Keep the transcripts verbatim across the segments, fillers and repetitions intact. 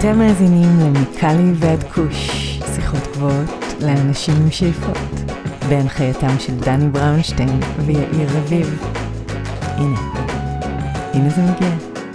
אתם מאזינים למיקלי ועד כוש, שיחות גבוהות לאנשים עם שאיפות, בהנחייתם של דני בראונשטיין ויאיר רביב. הנה, הנה זה מגיע.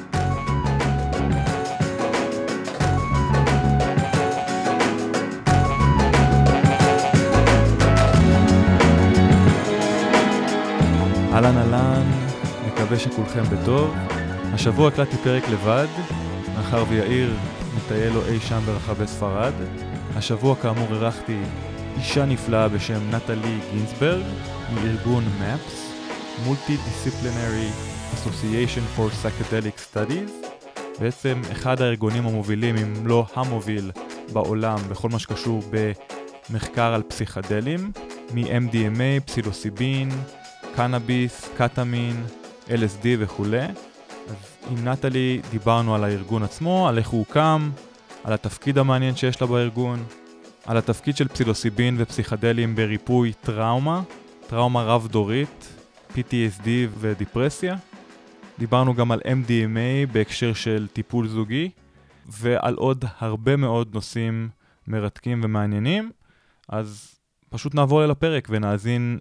אהלן אהלן, מקווה שכולכם בטוב. השבוע הקלטתי פרק לבד, מאחר ויאיר מטייל לו אי שם ברחבי ספרד. השבוע כאמור ערכתי אישה נפלאה בשם נטלי גינסברג, מארגון מאפס, Multidisciplinary Association for Psychedelic Studies, בעצם אחד הארגונים המובילים, אם לא המוביל, בעולם בכל מה שקשור במחקר על פסיכדלים, מ-אם די אם איי, פסילוסיבין, קנאביס, קטמין, אל אס די וכו'. אז עם נטלי דיברנו על הארגון עצמו, על איך הוא הוקם, על התפקיד המעניין שיש לה בארגון, על התפקיד של פסילוסיבין ופסיכדלים בריפוי טראומה, טראומה רב דורית, פי טי אס די ודיפרסיה. דיברנו גם על אם די אם איי בהקשר של טיפול זוגי, ועל עוד הרבה מאוד נושאים מרתקים ומעניינים. אז פשוט נעבור אל הפרק ונאזין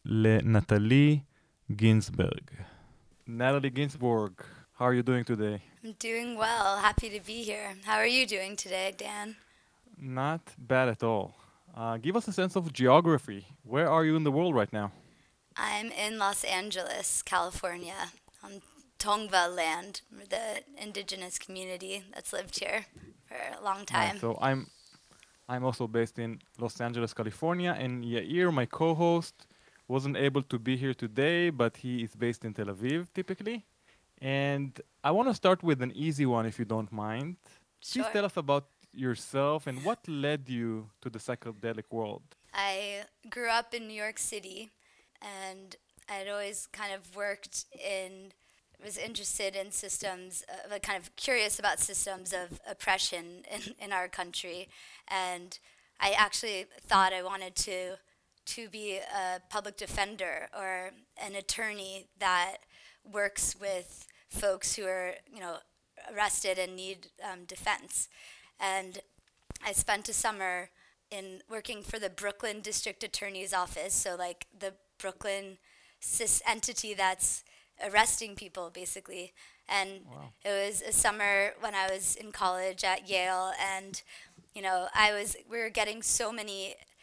לנטלי גינסברג. Natalie Ginsburg, how are you doing today? I'm doing well. Happy to be here. How are you doing today, Dan? Not bad at all. Uh, give us a sense of geography. Where are you in the world right now? I'm in Los Angeles, California, on Tongva land, the indigenous community that's lived here for a long time. Right, so I'm I'm also based in Los Angeles, California, and Yair, my co-host, wasn't able to be here today, but he is based in Tel Aviv, typically. And I want to start with an easy one, if you don't mind. Sure. Please tell us about yourself and what led you to the psychedelic world. I grew up in New York City, and I'd always kind of worked in, was interested in systems, uh, like kind of curious about systems of oppression in, in our country. And I actually thought I wanted to to be a public defender or an attorney that works with folks who are, you know, arrested and need um, defense. And I spent a summer in working for the Brooklyn District Attorney's Office, so like the Brooklyn cis entity that's arresting people, basically. And wow. It was a summer when I was in college at Yale, and, you know, I was, we were getting so many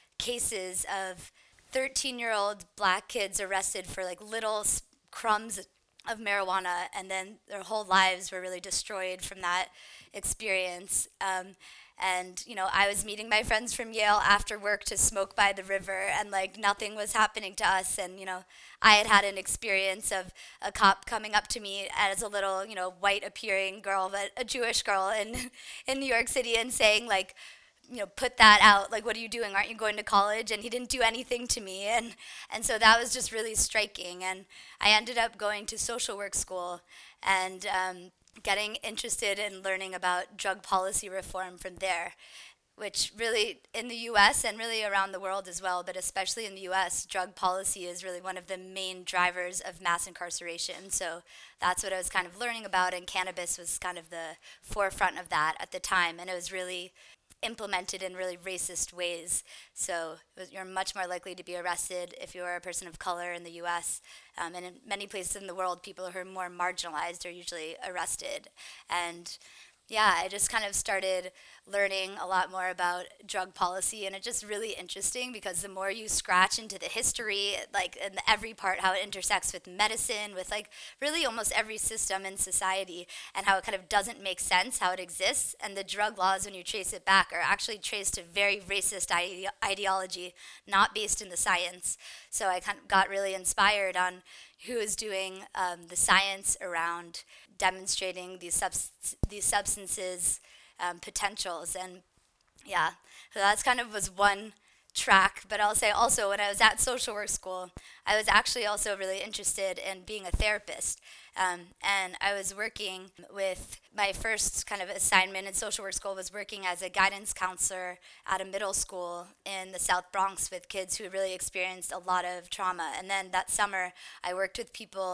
cases of thirteen-year-old black kids arrested for like little crumbs of marijuana, and then their whole lives were really destroyed from that experience. Um, and, you know, I was meeting my friends from Yale after work to smoke by the river, and like nothing was happening to us. And, you know, I had had an experience of a cop coming up to me as a little, you know, white appearing girl, but a Jewish girl in, in New York City, and saying like, you know, put that out, like, what are you doing? Aren't you going to college? And he didn't do anything to me. And and so that was just really striking. And I ended up going to social work school and um, getting interested in learning about drug policy reform from there, which really, in the U S and really around the world as well, but especially in the U S, drug policy is really one of the main drivers of mass incarceration. So that's what I was kind of learning about, and cannabis was kind of the forefront of that at the time. And it was really implemented in really racist ways. So you're much more likely to be arrested if you are a person of color in the U S. Um, and in many places in the world, people who are more marginalized are usually arrested. And yeah, I just kind of started learning a lot more about drug policy, and it's just really interesting because the more you scratch into the history, like in every part, how it intersects with medicine, with like really almost every system in society, and how it kind of doesn't make sense how it exists. And the drug laws, when you trace it back, are actually traced to very racist ide- ideology, not based in the science. So I kind of got really inspired on who is doing um, the science around demonstrating these subs- these substances um, potentials. And yeah, so that's kind of was one track. But I'll say also, when I was at social work school, I was actually also really interested in being a therapist. Um, and I was working with, my first kind of assignment in social work school was working as a guidance counselor at a middle school in the South Bronx with kids who really experienced a lot of trauma. And then that summer, I worked with people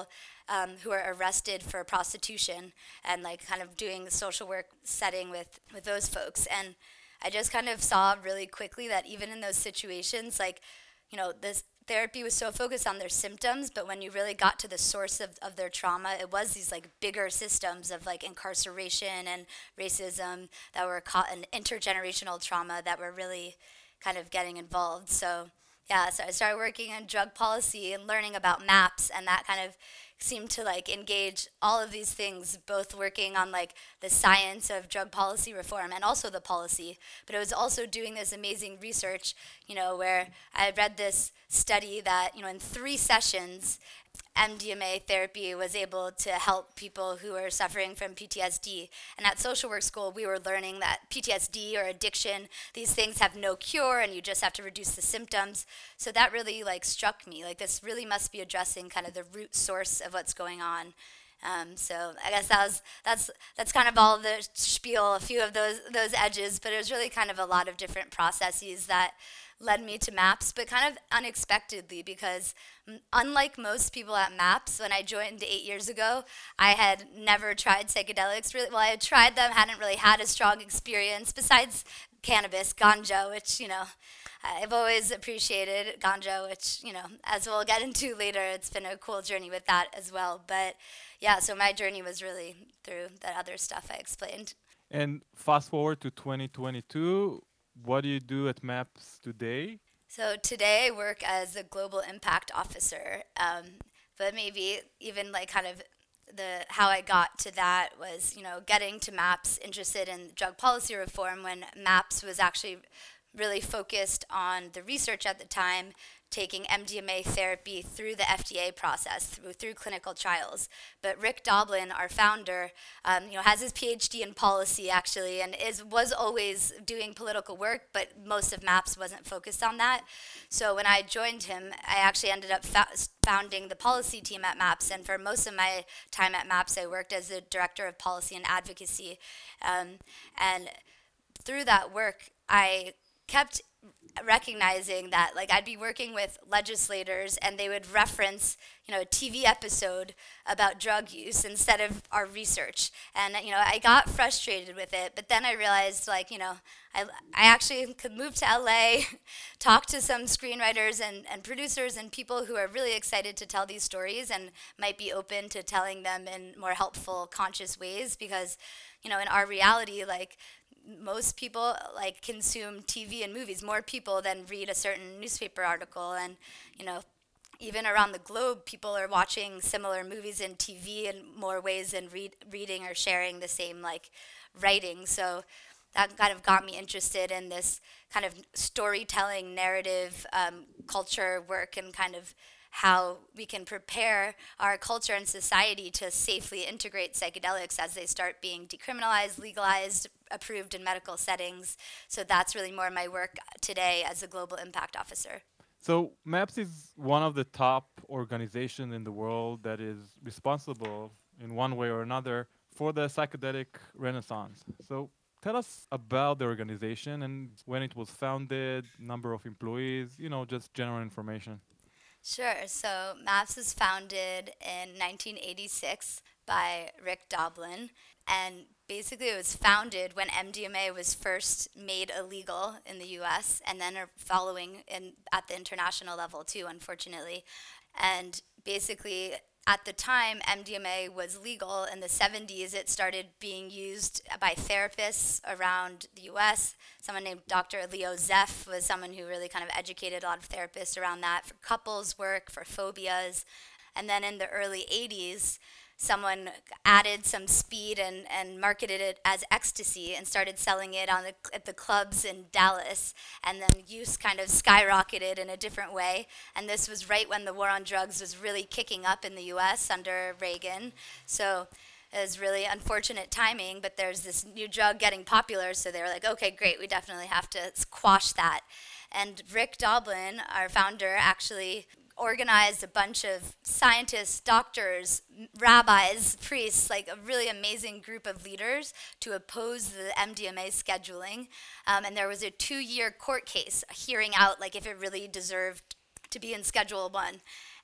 um, who are arrested for prostitution, and like kind of doing the social work setting with, with those folks. And I just kind of saw really quickly that even in those situations, like, you know, this therapy was so focused on their symptoms, but when you really got to the source of, of their trauma, it was these like bigger systems of like incarceration and racism that were caught in intergenerational trauma that were really kind of getting involved. So yeah, so I started working in drug policy and learning about MAPS, and that kind of seemed to like engage all of these things, both working on like the science of drug policy reform and also the policy. But it was also doing this amazing research, you know, where I read this study that, you know, in three sessions, M D M A therapy was able to help people who were suffering from P T S D. And at social work school, we were learning that P T S D or addiction, these things have no cure and you just have to reduce the symptoms. So that really like struck me, like this really must be addressing kind of the root source of what's going on. Um, so I guess that was that's that's kind of all the spiel, a few of those those edges, but it was really kind of a lot of different processes that led me to MAPS, but kind of unexpectedly, because m- unlike most people at MAPS, when I joined eight years ago, I had never tried psychedelics. Really, well, I had tried them, hadn't really had a strong experience besides cannabis, ganja, which, you know, I've always appreciated ganja, which, you know, as we'll get into later, it's been a cool journey with that as well. But yeah, so my journey was really through that other stuff I explained. And fast forward to twenty twenty-two, what do you do at MAPS today? So today I work as a global impact officer, um, but maybe even like kind of the how I got to that was, you know, getting to MAPS, interested in drug policy reform when MAPS was actually really focused on the research at the time, taking M D M A therapy through the F D A process, through, through clinical trials. But Rick Doblin, our founder, um, you know, has his P H D in policy actually, and is was always doing political work, but most of MAPS wasn't focused on that. So when I joined him, I actually ended up fa- founding the policy team at MAPS, and for most of my time at MAPS, I worked as the director of policy and advocacy. Um, and through that work, I kept recognizing that like I'd be working with legislators and they would reference, you know, a T V episode about drug use instead of our research. And, you know, I got frustrated with it, but then I realized like, you know, I, I actually could move to L A, talk to some screenwriters and, and producers and people who are really excited to tell these stories and might be open to telling them in more helpful, conscious ways, because, you know, in our reality, like, most people like consume T V and movies, more people than read a certain newspaper article. And, you know, even around the globe, people are watching similar movies and T V in more ways than read, reading or sharing the same like writing. So that kind of got me interested in this kind of storytelling, narrative, um, culture work, and kind of how we can prepare our culture and society to safely integrate psychedelics as they start being decriminalized, legalized, approved in medical settings. So that's really more my work today as a global impact officer. So MAPS is one of the top organizations in the world that is responsible in one way or another for the psychedelic renaissance. So tell us about the organization and when it was founded, number of employees, you know, just general information. Sure. So MAPS was founded in nineteen eighty-six by Rick Doblin, and basically it was founded when M D M A was first made illegal in the U S and then are following in at the international level too, unfortunately. And basically at the time M D M A was legal in the seventies, it started being used by therapists around the U S. Someone named Doctor Leo Zeff was someone who really kind of educated a lot of therapists around that for couples work, for phobias. And then in the early eighties, someone added some speed and, and marketed it as ecstasy and started selling it on the, at the clubs in Dallas. And then use kind of skyrocketed in a different way. And this was right when the war on drugs was really kicking up in the U S under Reagan. So it was really unfortunate timing, but there's this new drug getting popular, so they were like, okay, great, we definitely have to quash that. And Rick Doblin, our founder, actually organized a bunch of scientists, doctors, rabbis, priests, like a really amazing group of leaders to oppose the M D M A scheduling. Um, and there was a two-year court case hearing out like if it really deserved to be in Schedule One.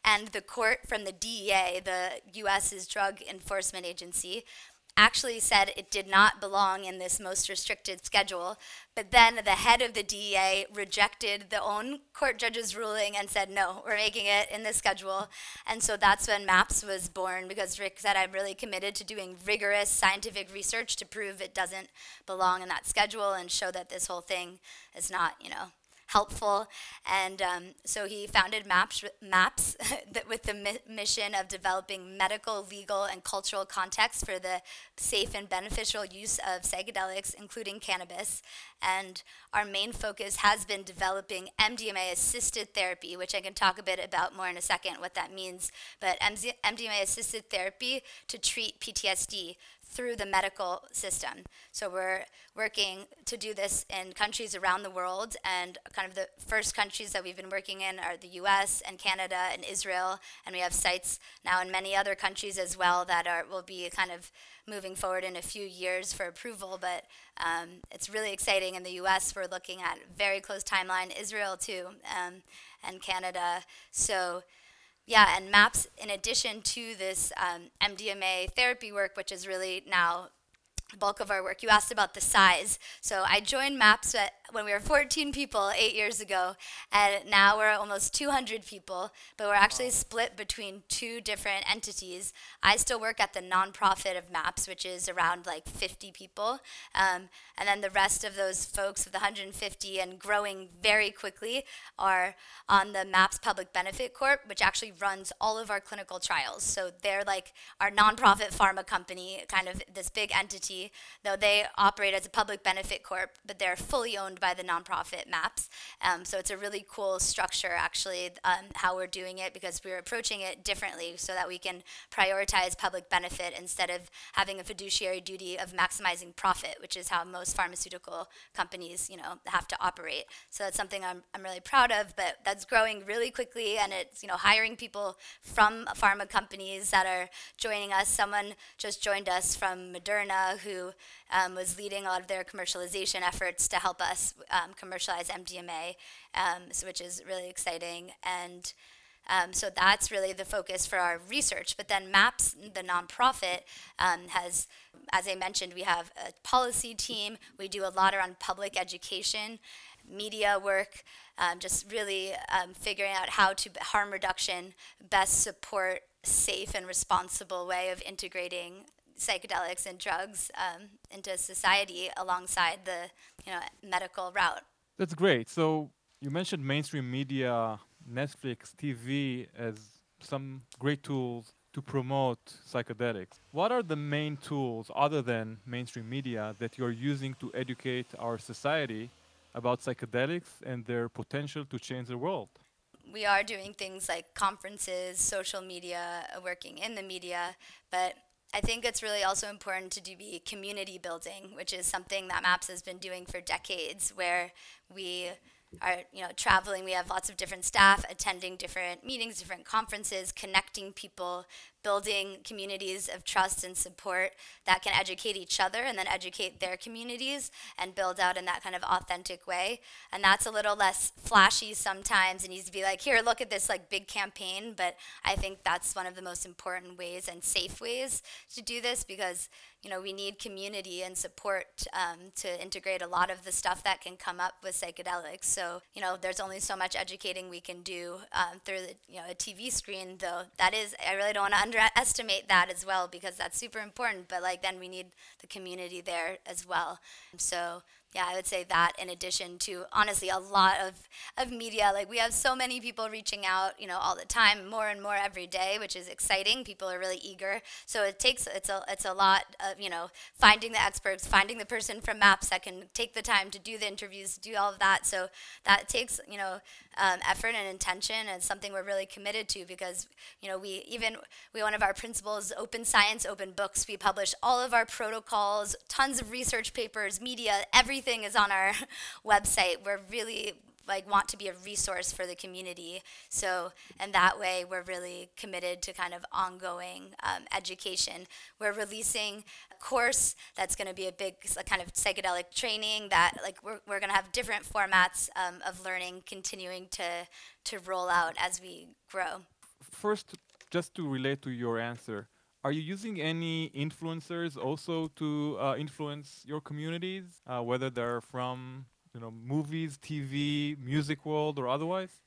And the court from the D E A, the U S's Drug Enforcement Agency, actually said it did not belong in this most restricted schedule. But then the head of the D E A rejected the own court judge's ruling and said, no, we're making it in this schedule. And so that's when MAPS was born, because Rick said, I'm really committed to doing rigorous scientific research to prove it doesn't belong in that schedule and show that this whole thing is not, you know, helpful. And um, so he founded MAPS, MAPS that with the mi- mission of developing medical, legal, and cultural context for the safe and beneficial use of psychedelics, including cannabis. And our main focus has been developing M D M A-assisted therapy, which I can talk a bit about more in a second, what that means. But M D M A-assisted therapy to treat P T S D through the medical system. So we're working to do this in countries around the world, and kind of the first countries that we've been working in are the U S and Canada and Israel, and we have sites now in many other countries as well that are will be kind of moving forward in a few years for approval, but um, it's really exciting. In the U S, we're looking at very close timeline, Israel too, um, and Canada. So yeah, and MAPS, in addition to this um, M D M A therapy work, which is really now the bulk of our work. You asked about the size. So I joined MAPS at, when we were fourteen people eight years ago, and now we're almost two hundred people, but we're actually split between two different entities. I still work at the nonprofit of MAPS, which is around like fifty people, um, and then the rest of those folks, of the one hundred fifty and growing very quickly, are on the MAPS Public Benefit Corp, which actually runs all of our clinical trials. So they're like our nonprofit pharma company, kind of this big entity, though they operate as a public benefit corp, but they're fully owned by the nonprofit MAPS. Um, so it's a really cool structure, actually, um, how we're doing it, because we're approaching it differently so that we can prioritize public benefit instead of having a fiduciary duty of maximizing profit, which is how most pharmaceutical companies, you know, have to operate. So that's something I'm I'm really proud of, but that's growing really quickly, and it's, you know, hiring people from pharma companies that are joining us. Someone just joined us from Moderna, who um, was leading a lot of their commercialization efforts to help us um, commercialize M D M A, um, so which is really exciting. And um, so that's really the focus for our research. But then MAPS, the nonprofit, um, has, as I mentioned, we have a policy team. We do a lot around public education, media work, um, just really um, figuring out how to harm reduction best support safe and responsible way of integrating psychedelics and drugs um, into society alongside the, you know, medical route. That's great. So you mentioned mainstream media, Netflix, T V as some great tools to promote psychedelics. What are the main tools other than mainstream media that you're using to educate our society about psychedelics and their potential to change the world? We are doing things like conferences, social media, uh, working in the media, but I think it's really also important to do be community building, which is something that MAPS has been doing for decades, where we are, you know, traveling. We have lots of different staff attending different meetings, different conferences, connecting people, building communities of trust and support that can educate each other and then educate their communities and build out in that kind of authentic way. And that's a little less flashy sometimes. It needs to be like, here, look at this like big campaign. But I think that's one of the most important ways and safe ways to do this, because, you know, we need community and support um, to integrate a lot of the stuff that can come up with psychedelics. So, you know, there's only so much educating we can do um, through the, you know, a T V screen, though that is, I really don't want to underestimate that as well, because that's super important, but like then we need the community there as well. So yeah, I would say that, in addition to, honestly, a lot of, of media. Like, we have so many people reaching out, you know, all the time, more and more every day, which is exciting. People are really eager. So it takes, it's a, it's a lot of, you know, finding the experts, finding the person from MAPS that can take the time to do the interviews, do all of that. So that takes, you know, um, effort and intention, and something we're really committed to, because, you know, we even, we, one of our principles, open science, open books. We publish all of our protocols, tons of research papers, media, everything is on our website. We're really like want to be a resource for the community. So, and that way we're really committed to kind of ongoing um, education. We're releasing a course that's going to be a big kind of psychedelic training that like we're, we're going to have different formats um, of learning continuing to, to roll out as we grow. First, just to relate to your answer, are you using any influencers also to uh, influence your communities, uh, whether they're from you know movies, T V, music world, or otherwise?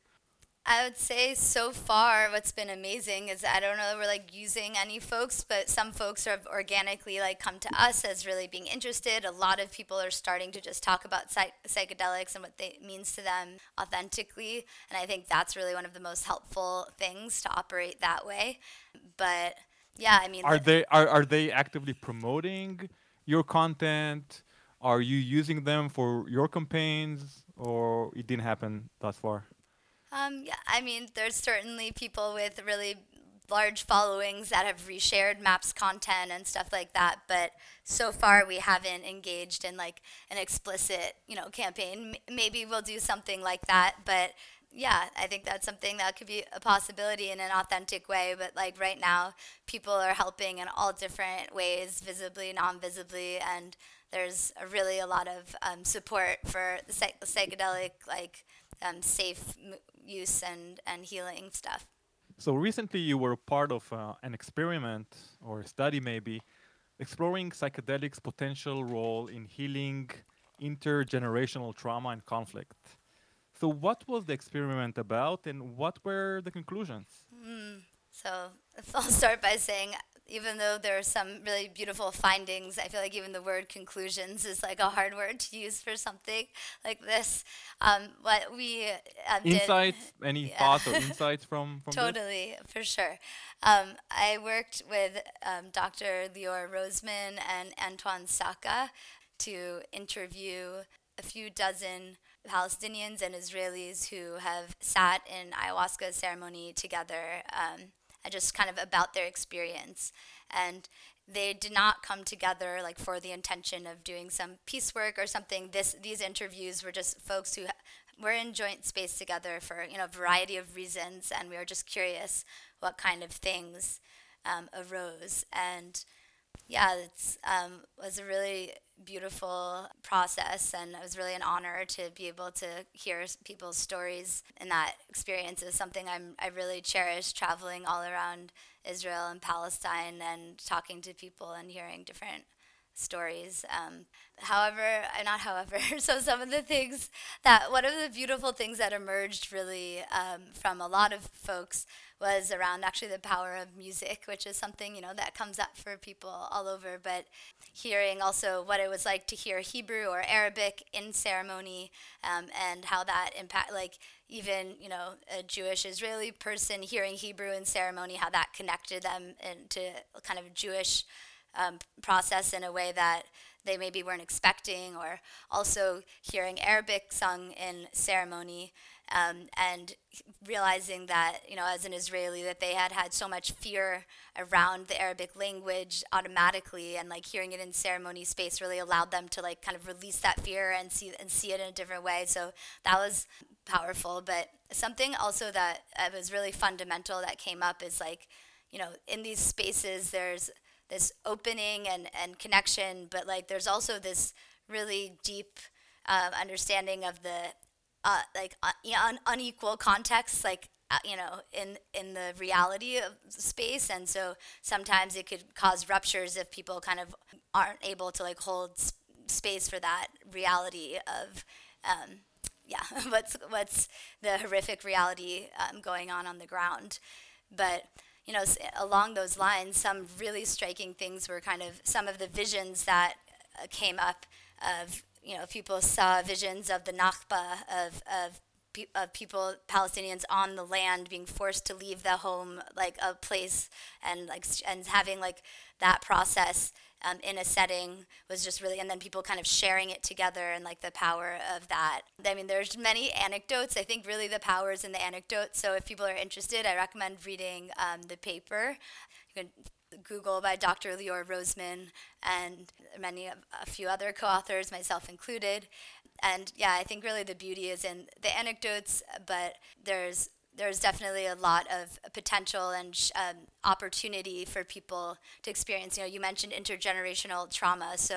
I would say so far what's been amazing is I don't know if we're like using any folks, but some folks have organically like come to us as really being interested. A lot of people are starting to just talk about psych- psychedelics and what they means to them authentically, and I think that's really one of the most helpful things to operate that way. But yeah, I mean, Are the, they are, are they actively promoting your content? Are you using them for your campaigns, or it didn't happen thus far? Um, yeah, I mean, there's certainly people with really large followings that have reshared Maps content and stuff like that, but so far we haven't engaged in like an explicit, you know, campaign. M- maybe we'll do something like that, but yeah, I think that's something that could be a possibility in an authentic way. But like right now, people are helping in all different ways, visibly, non-visibly, and there's a really a lot of um, support for the psych- psychedelic like um, safe m- use and, and healing stuff. So recently, you were part of uh, an experiment or a study, maybe, exploring psychedelics' potential role in healing intergenerational trauma and conflict. So, what was the experiment about, and what were the conclusions? Mm. So if I'll start by saying, even though there are some really beautiful findings, I feel like even the word conclusions is like a hard word to use for something like this. Um, what we um, did, Insights? Any yeah. thoughts or insights from from this? Totally, for sure. Um, I worked with um, doctor Lior Roseman and Antoine Saka to interview a few dozen Palestinians and Israelis who have sat in ayahuasca ceremony together, um, and just kind of about their experience. And they did not come together like for the intention of doing some piecework or something. This these interviews were just folks who were in joint space together for you know a variety of reasons, and we were just curious what kind of things um, arose. And yeah, it's um, was a really beautiful process, and it was really an honor to be able to hear s- people's stories. And that experience is something I'm I really cherish, traveling all around Israel and Palestine and talking to people and hearing different stories. Um, however, uh, not however, so some of the things that, one of the beautiful things that emerged really um, from a lot of folks was around actually the power of music, which is something, you know, that comes up for people all over. But hearing also what it was like to hear Hebrew or Arabic in ceremony, um, and how that impact, like even, you know, a Jewish Israeli person hearing Hebrew in ceremony, how that connected them into kind of Jewish um, process in a way that they maybe weren't expecting, or also hearing Arabic sung in ceremony, um, and realizing that, you know, as an Israeli, that they had had so much fear around the Arabic language automatically, and like hearing it in ceremony space really allowed them to like kind of release that fear and see and see it in a different way. So that was powerful. But something also that uh, was really fundamental that came up is like, you know, in these spaces, there's this opening and, and connection, but like there's also this really deep um, understanding of the uh, like uh, un- unequal context, like uh, you know, in in the reality of space, and so sometimes it could cause ruptures if people kind of aren't able to like hold s- space for that reality of um, yeah, what's what's the horrific reality um, going on on the ground. But you know, s- along those lines, some really striking things were kind of some of the visions that uh, came up of, you know, people saw visions of the Nakba, of of pe- of people, Palestinians on the land being forced to leave the home, like a place, and like s- and having like that process um, in a setting was just really, and then people kind of sharing it together and like the power of that. I mean, there's many anecdotes. I think really the power is in the anecdotes. So if people are interested, I recommend reading um, the paper. You can Google by doctor Lior Roseman and many of a few other co-authors, myself included. And yeah, I think really the beauty is in the anecdotes, but there's there's definitely a lot of potential and sh- um, opportunity for people to experience. You know, you mentioned intergenerational trauma, so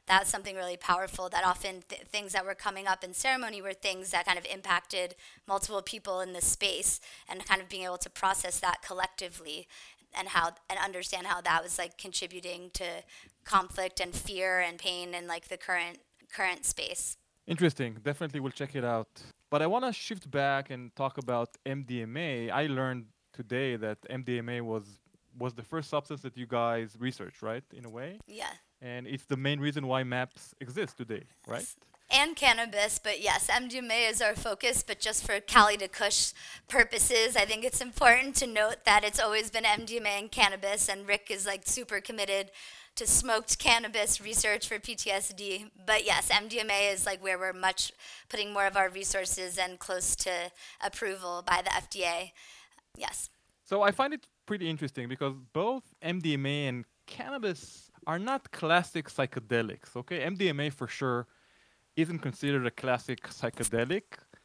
that's something really powerful, that often th- things that were coming up in ceremony were things that kind of impacted multiple people in the space, and kind of being able to process that collectively and how and understand how that was like contributing to conflict and fear and pain in like the current current space. Interesting. Definitely we'll check it out. But I want to shift back and talk about M D M A. I learned today that M D M A was was the first substance that you guys researched, right? In a way. Yeah. And it's the main reason why MAPS exists today, right? And cannabis, but yes, M D M A is our focus, but just for Cali to Kush purposes, I think it's important to note that it's always been M D M A and cannabis, and Rick is like super committed to smoked cannabis research for P T S D. But yes, M D M A is like where we're much putting more of our resources and close to approval by the F D A. Yes. So I find it pretty interesting because both M D M A and cannabis are not classic psychedelics, okay? M D M A for sure isn't considered a classic psychedelic,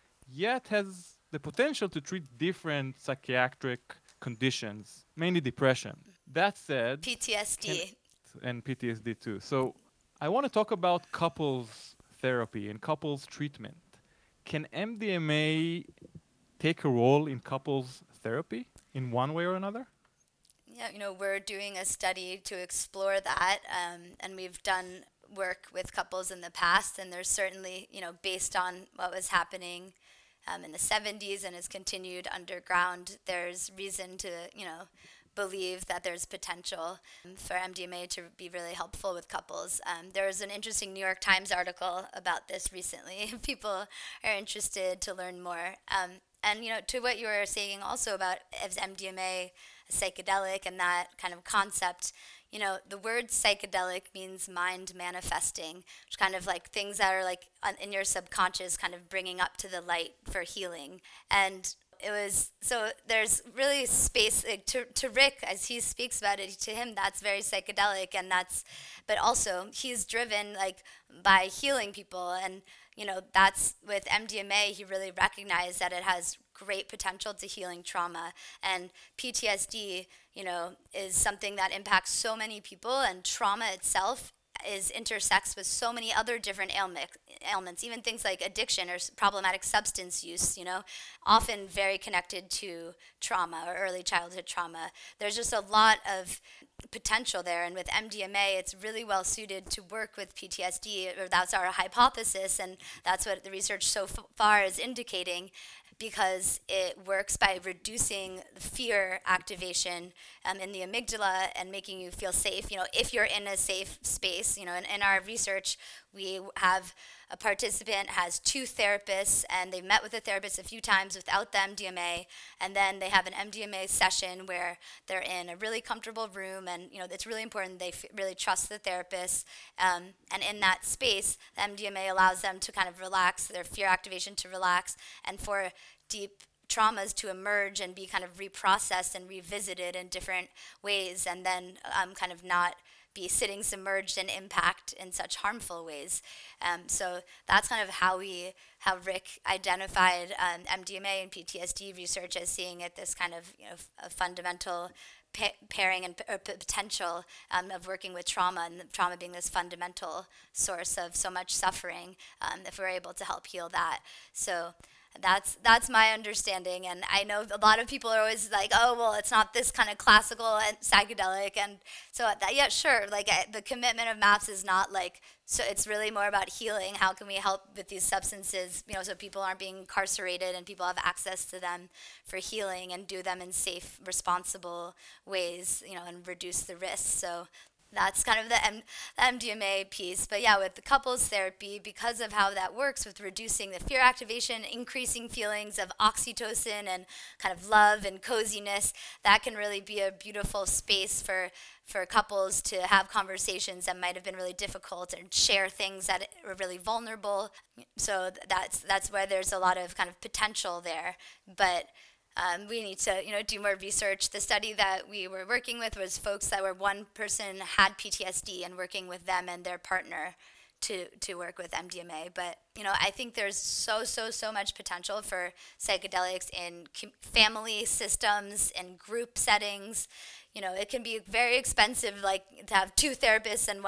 yet has the potential to treat different psychiatric conditions, mainly depression. That said, P T S D. And P T S D too. So I want to talk about couples therapy and couples treatment. Can M D M A take a role in couples therapy in one way or another? Yeah, you know, we're doing a study to explore that, um, and we've done work with couples in the past, and there's certainly, you know, based on what was happening um, in the seventies and has continued underground, there's reason to, you know, believe that there's potential for M D M A to be really helpful with couples. Um, there was an interesting New York Times article about this recently, if people are interested to learn more. Um, and, you know, to what you were saying also about is M D M A a psychedelic and that kind of concept, you know, the word psychedelic means mind manifesting, which kind of like things that are like in your subconscious kind of bringing up to the light for healing. And it was, so there's really space like, to, to Rick, as he speaks about it, to him that's very psychedelic, and that's, but also he's driven like by healing people, and you know, that's with M D M A, he really recognized that it has great potential to healing trauma, and P T S D, you know, is something that impacts so many people, and trauma itself is intersects with so many other different ailment, ailments, even things like addiction or s- problematic substance use, you know, often very connected to trauma or early childhood trauma. There's just a lot of potential there, and with M D M A, it's really well suited to work with P T S D, or that's our hypothesis, and that's what the research so f- far is indicating, because it works by reducing fear activation um, in the amygdala and making you feel safe. You know, if you're in a safe space, you know, in, in our research, we have a participant has two therapists, and they've met with the therapist a few times without the M D M A, and then they have an M D M A session where they're in a really comfortable room, and you know it's really important they f- really trust the therapist, um, and in that space, the M D M A allows them to kind of relax, their fear activation to relax, and for deep traumas to emerge and be kind of reprocessed and revisited in different ways, and then um, kind of not be sitting submerged in impact in such harmful ways. Um, so that's kind of how we, how Rick identified um, M D M A and P T S D research as seeing it this kind of, you know, f- a fundamental pa- pairing and p- or p- potential um, of working with trauma, and the trauma being this fundamental source of so much suffering, um, if we're able to help heal that. So That's that's my understanding, and I know a lot of people are always like, oh, well, it's not this kind of classical and psychedelic, and so that, yeah, sure, like I, the commitment of MAPS is not like, so it's really more about healing. How can we help with these substances, you know, so people aren't being incarcerated and people have access to them for healing and do them in safe, responsible ways, you know, and reduce the risks. So that's kind of the M- M D M A piece. But yeah, with the couples therapy, because of how that works with reducing the fear activation, increasing feelings of oxytocin and kind of love and coziness, that can really be a beautiful space for, for couples to have conversations that might have been really difficult and share things that are really vulnerable. So that's, that's where there's a lot of kind of potential there. But Um, we need to, you know, do more research. The study that we were working with was folks that were one person had P T S D and working with them and their partner to to work with M D M A. But you know, I think there's so so so much potential for psychedelics in com- family systems and group settings. You know, it can be very expensive, like to have two therapists and one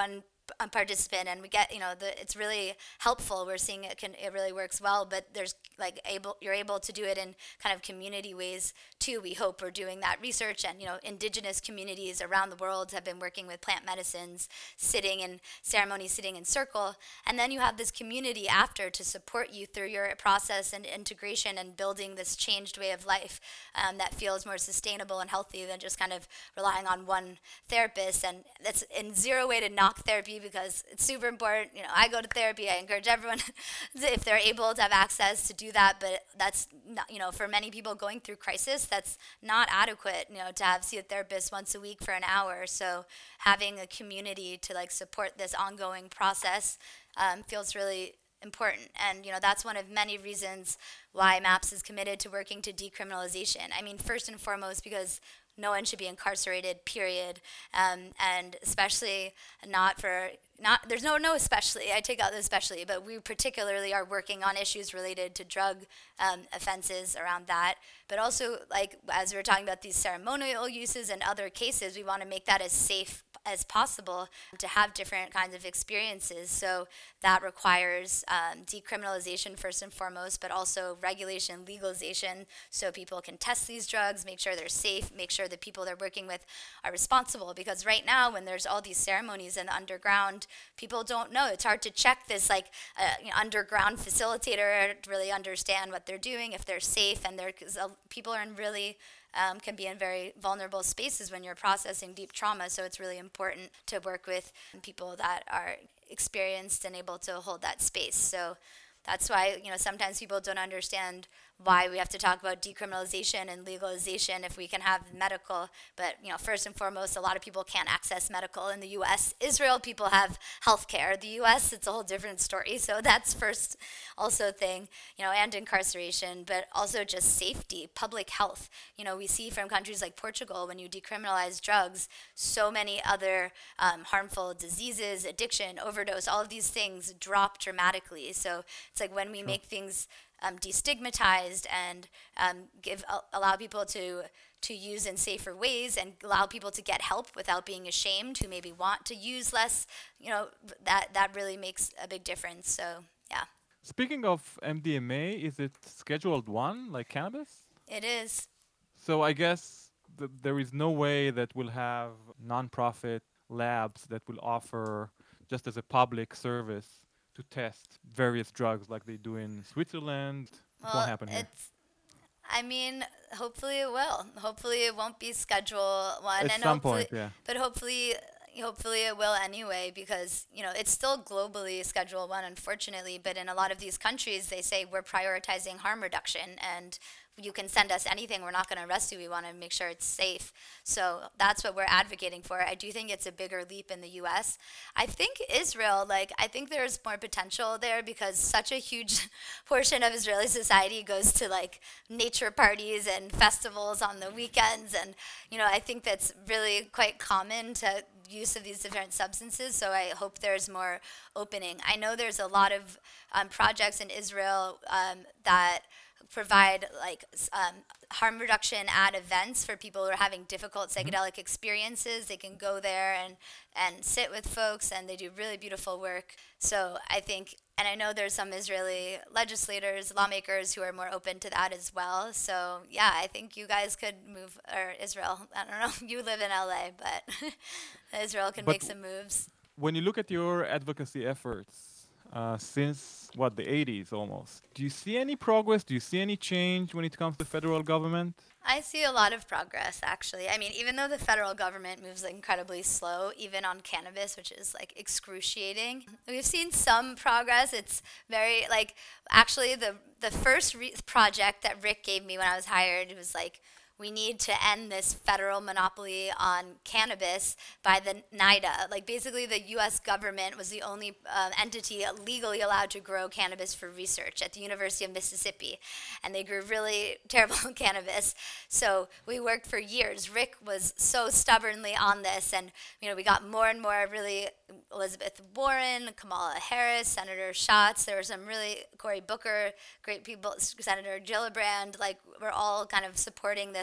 a participant, and we get, you know, the it's really helpful. We're seeing it can it really works well, but there's like able you're able to do it in kind of community ways too. We hope we're doing that research, and you know, indigenous communities around the world have been working with plant medicines, sitting in ceremonies, sitting in circle, and then you have this community after to support you through your process and integration and building this changed way of life um, that feels more sustainable and healthy than just kind of relying on one therapist. And that's in zero way to knock therapy, because it's super important. You know, I go to therapy. I encourage everyone if they're able to have access to do that. But that's not, you know, for many people going through crisis, that's not adequate. You know, to have see a therapist once a week for an hour. So having a community to like support this ongoing process um, feels really important. And you know, that's one of many reasons why MAPS is committed to working to decriminalization. I mean, first and foremost, because no one should be incarcerated, period. Um, and especially not for, not, there's no, no especially, I take out the especially, but we particularly are working on issues related to drug um, offenses around that. But also, like, as we were talking about these ceremonial uses and other cases, we want to make that as safe as possible to have different kinds of experiences. So that requires um, decriminalization first and foremost, but also regulation, legalization, so people can test these drugs, make sure they're safe, make sure the people they're working with are responsible. Because right now, when there's all these ceremonies in the underground, people don't know. It's hard to check this, like, uh, you know, underground facilitator to really understand what they're doing, if they're safe, and they're, cause, uh, people are in really Um, can be in very vulnerable spaces when you're processing deep trauma. So it's really important to work with people that are experienced and able to hold that space. So that's why, you know, sometimes people don't understand why we have to talk about decriminalization and legalization if we can have medical. But, you know, first and foremost, a lot of people can't access medical in the U S. Israel, people have health care. The U S, it's a whole different story. So that's first also thing, you know, and incarceration, but also just safety, public health. You know, we see from countries like Portugal, when you decriminalize drugs, so many other um, harmful diseases, addiction, overdose, all of these things drop dramatically. So it's like when we Sure. make things Um, destigmatized and um, give uh, allow people to to use in safer ways and allow people to get help without being ashamed, who maybe want to use less, you know, that that really makes a big difference. So yeah, Speaking of M D M A, is it scheduled one like cannabis? it is. So I guess th- there is no way that we'll have nonprofit labs that will offer just as a public service to test various drugs like they do in Switzerland. It won't Well, happen here. it's. I mean, hopefully it will. Hopefully it won't be Schedule One, At and some hopefully, point, yeah. but hopefully, hopefully it will anyway, because you know it's still globally Schedule One, unfortunately. But in a lot of these countries, they say we're prioritizing harm reduction, and you can send us anything. We're not going to arrest you. We want to make sure it's safe. So that's what we're advocating for. I do think it's a bigger leap in the U S. I think Israel, like, I think there's more potential there, because such a huge portion of Israeli society goes to like nature parties and festivals on the weekends. And, you know, I think that's really quite common to use of these different substances. So I hope there's more opening. I know there's a lot of um, projects in Israel um, that provide like um, harm reduction at events for people who are having difficult psychedelic experiences. They can go there and, and sit with folks, and they do really beautiful work. So I think, and I know there's some Israeli legislators, lawmakers who are more open to that as well. So yeah, I think you guys could move, or Israel, I don't know, you live in L A, but Israel can But make some moves. When you look at your advocacy efforts uh, since, what, the eighties almost, do you see any progress? Do you see any change when it comes to federal government? I see a lot of progress, actually. I mean, even though the federal government moves incredibly slow, even on cannabis, which is like excruciating, we've seen some progress. It's very like, actually, the the first re- project that Rick gave me when I was hired, it was like, we need to end this federal monopoly on cannabis by the NIDA. Like basically the U S government was the only uh, entity legally allowed to grow cannabis for research at the University of Mississippi. And they grew really terrible cannabis. So we worked for years. Rick was so stubbornly on this, and you know, we got more and more really Elizabeth Warren, Kamala Harris, Senator Schatz. There were some really, Cory Booker, great people, Senator Gillibrand, like we're all kind of supporting this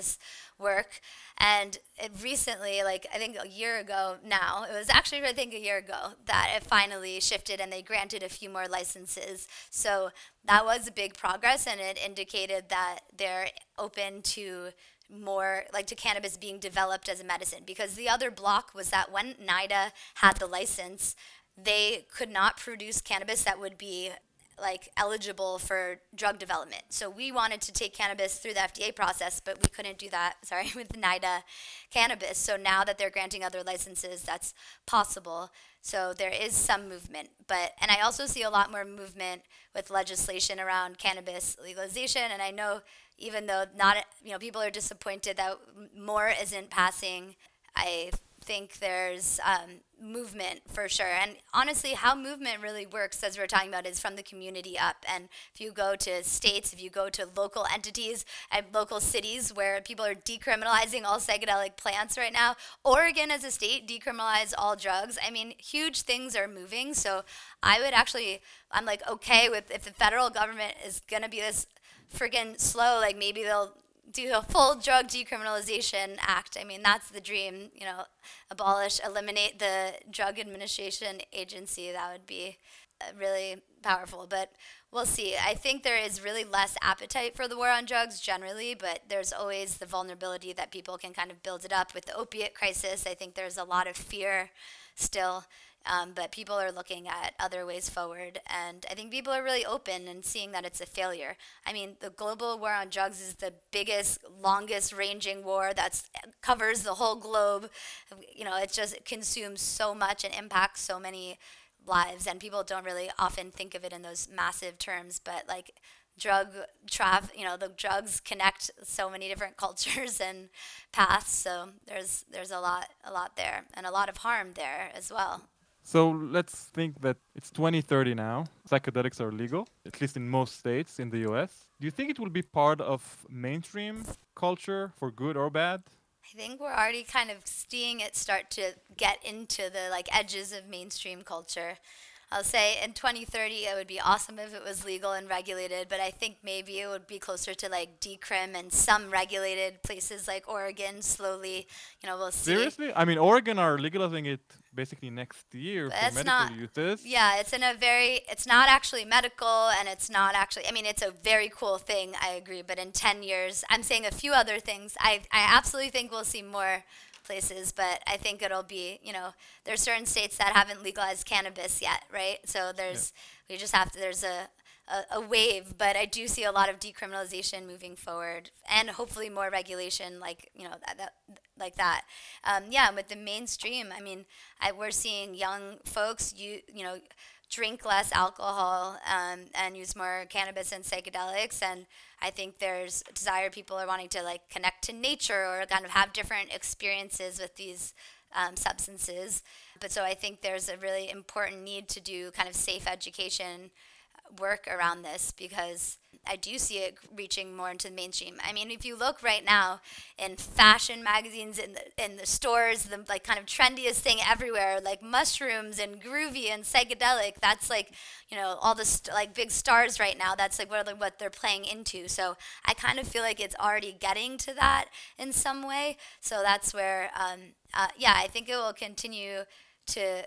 cannabis work. And it recently, like I think a year ago now, it was actually I think a year ago that it finally shifted and they granted a few more licenses. So that was a big progress, and it indicated that they're open to more like to cannabis being developed as a medicine, because the other block was that when NIDA had the license, they could not produce cannabis that would be like eligible for drug development. So we wanted to take cannabis through the F D A process, but we couldn't do that, sorry, with NIDA cannabis. So now that they're granting other licenses, that's possible. So there is some movement, but, and I also see a lot more movement with legislation around cannabis legalization. And I know even though not, you know, people are disappointed that more isn't passing, I think there's um, movement for sure. And honestly, how movement really works, as we're talking about, is from the community up. And if you go to states, if you go to local entities and local cities where people are decriminalizing all psychedelic plants right now, Oregon as a state decriminalized all drugs. I mean, huge things are moving. So I would actually, I'm like, okay with if the federal government is going to be this friggin' slow, like maybe they'll do a full drug decriminalization act. I mean, that's the dream, you know, abolish, eliminate the Drug Administration Agency. That would be uh, really powerful, but we'll see. I think there is really less appetite for the war on drugs generally, but there's always the vulnerability that people can kind of build it up. With the opiate crisis, I think there's a lot of fear still. Um, but people are looking at other ways forward, and I think people are really open and seeing that it's a failure. I mean, the global war on drugs is the biggest, longest-ranging war that covers the whole globe. You know, it just consumes so much and impacts so many lives, and people don't really often think of it in those massive terms, but like drug traf, you know, the drugs connect so many different cultures and paths. So there's there's a lot a lot there, and a lot of harm there as well. So let's think that it's twenty thirty now. Psychedelics are legal, at least in most states in the U S. Do you think it will be part of mainstream culture for good or bad? I think we're already kind of seeing it start to get into the like edges of mainstream culture. I'll say in twenty thirty it would be awesome if it was legal and regulated, but I think maybe it would be closer to like decrim and some regulated places like Oregon slowly, you know, we'll see. Seriously? I mean, Oregon are legalizing it basically next year But for it's medical not, uses. yeah, it's in a very, it's not actually medical, and it's not actually, I mean, it's a very cool thing, I agree, but in ten years, I'm saying a few other things. I, I absolutely think we'll see more places, but I think it'll be, you know, there's certain states that haven't legalized cannabis yet, right? So there's, yeah. we just have to, there's a, a, a wave, but I do see a lot of decriminalization moving forward, and hopefully more regulation, like, you know, that, that like that. Um, yeah, with the mainstream, I mean, I, we're seeing young folks, you, you know, drink less alcohol um, and use more cannabis and psychedelics, and I think there's a desire, people are wanting to like connect to nature or kind of have different experiences with these um, substances. But so I think there's a really important need to do kind of safe education work around this, because I do see it reaching more into the mainstream. I mean, if you look right now in fashion magazines, in the in the stores, the like kind of trendiest thing everywhere, like mushrooms and groovy and psychedelic. That's like, you know, all the st- like big stars right now. That's like what what they're playing into. So I kind of feel like it's already getting to that in some way. So that's where, um, uh, yeah, I think it will continue to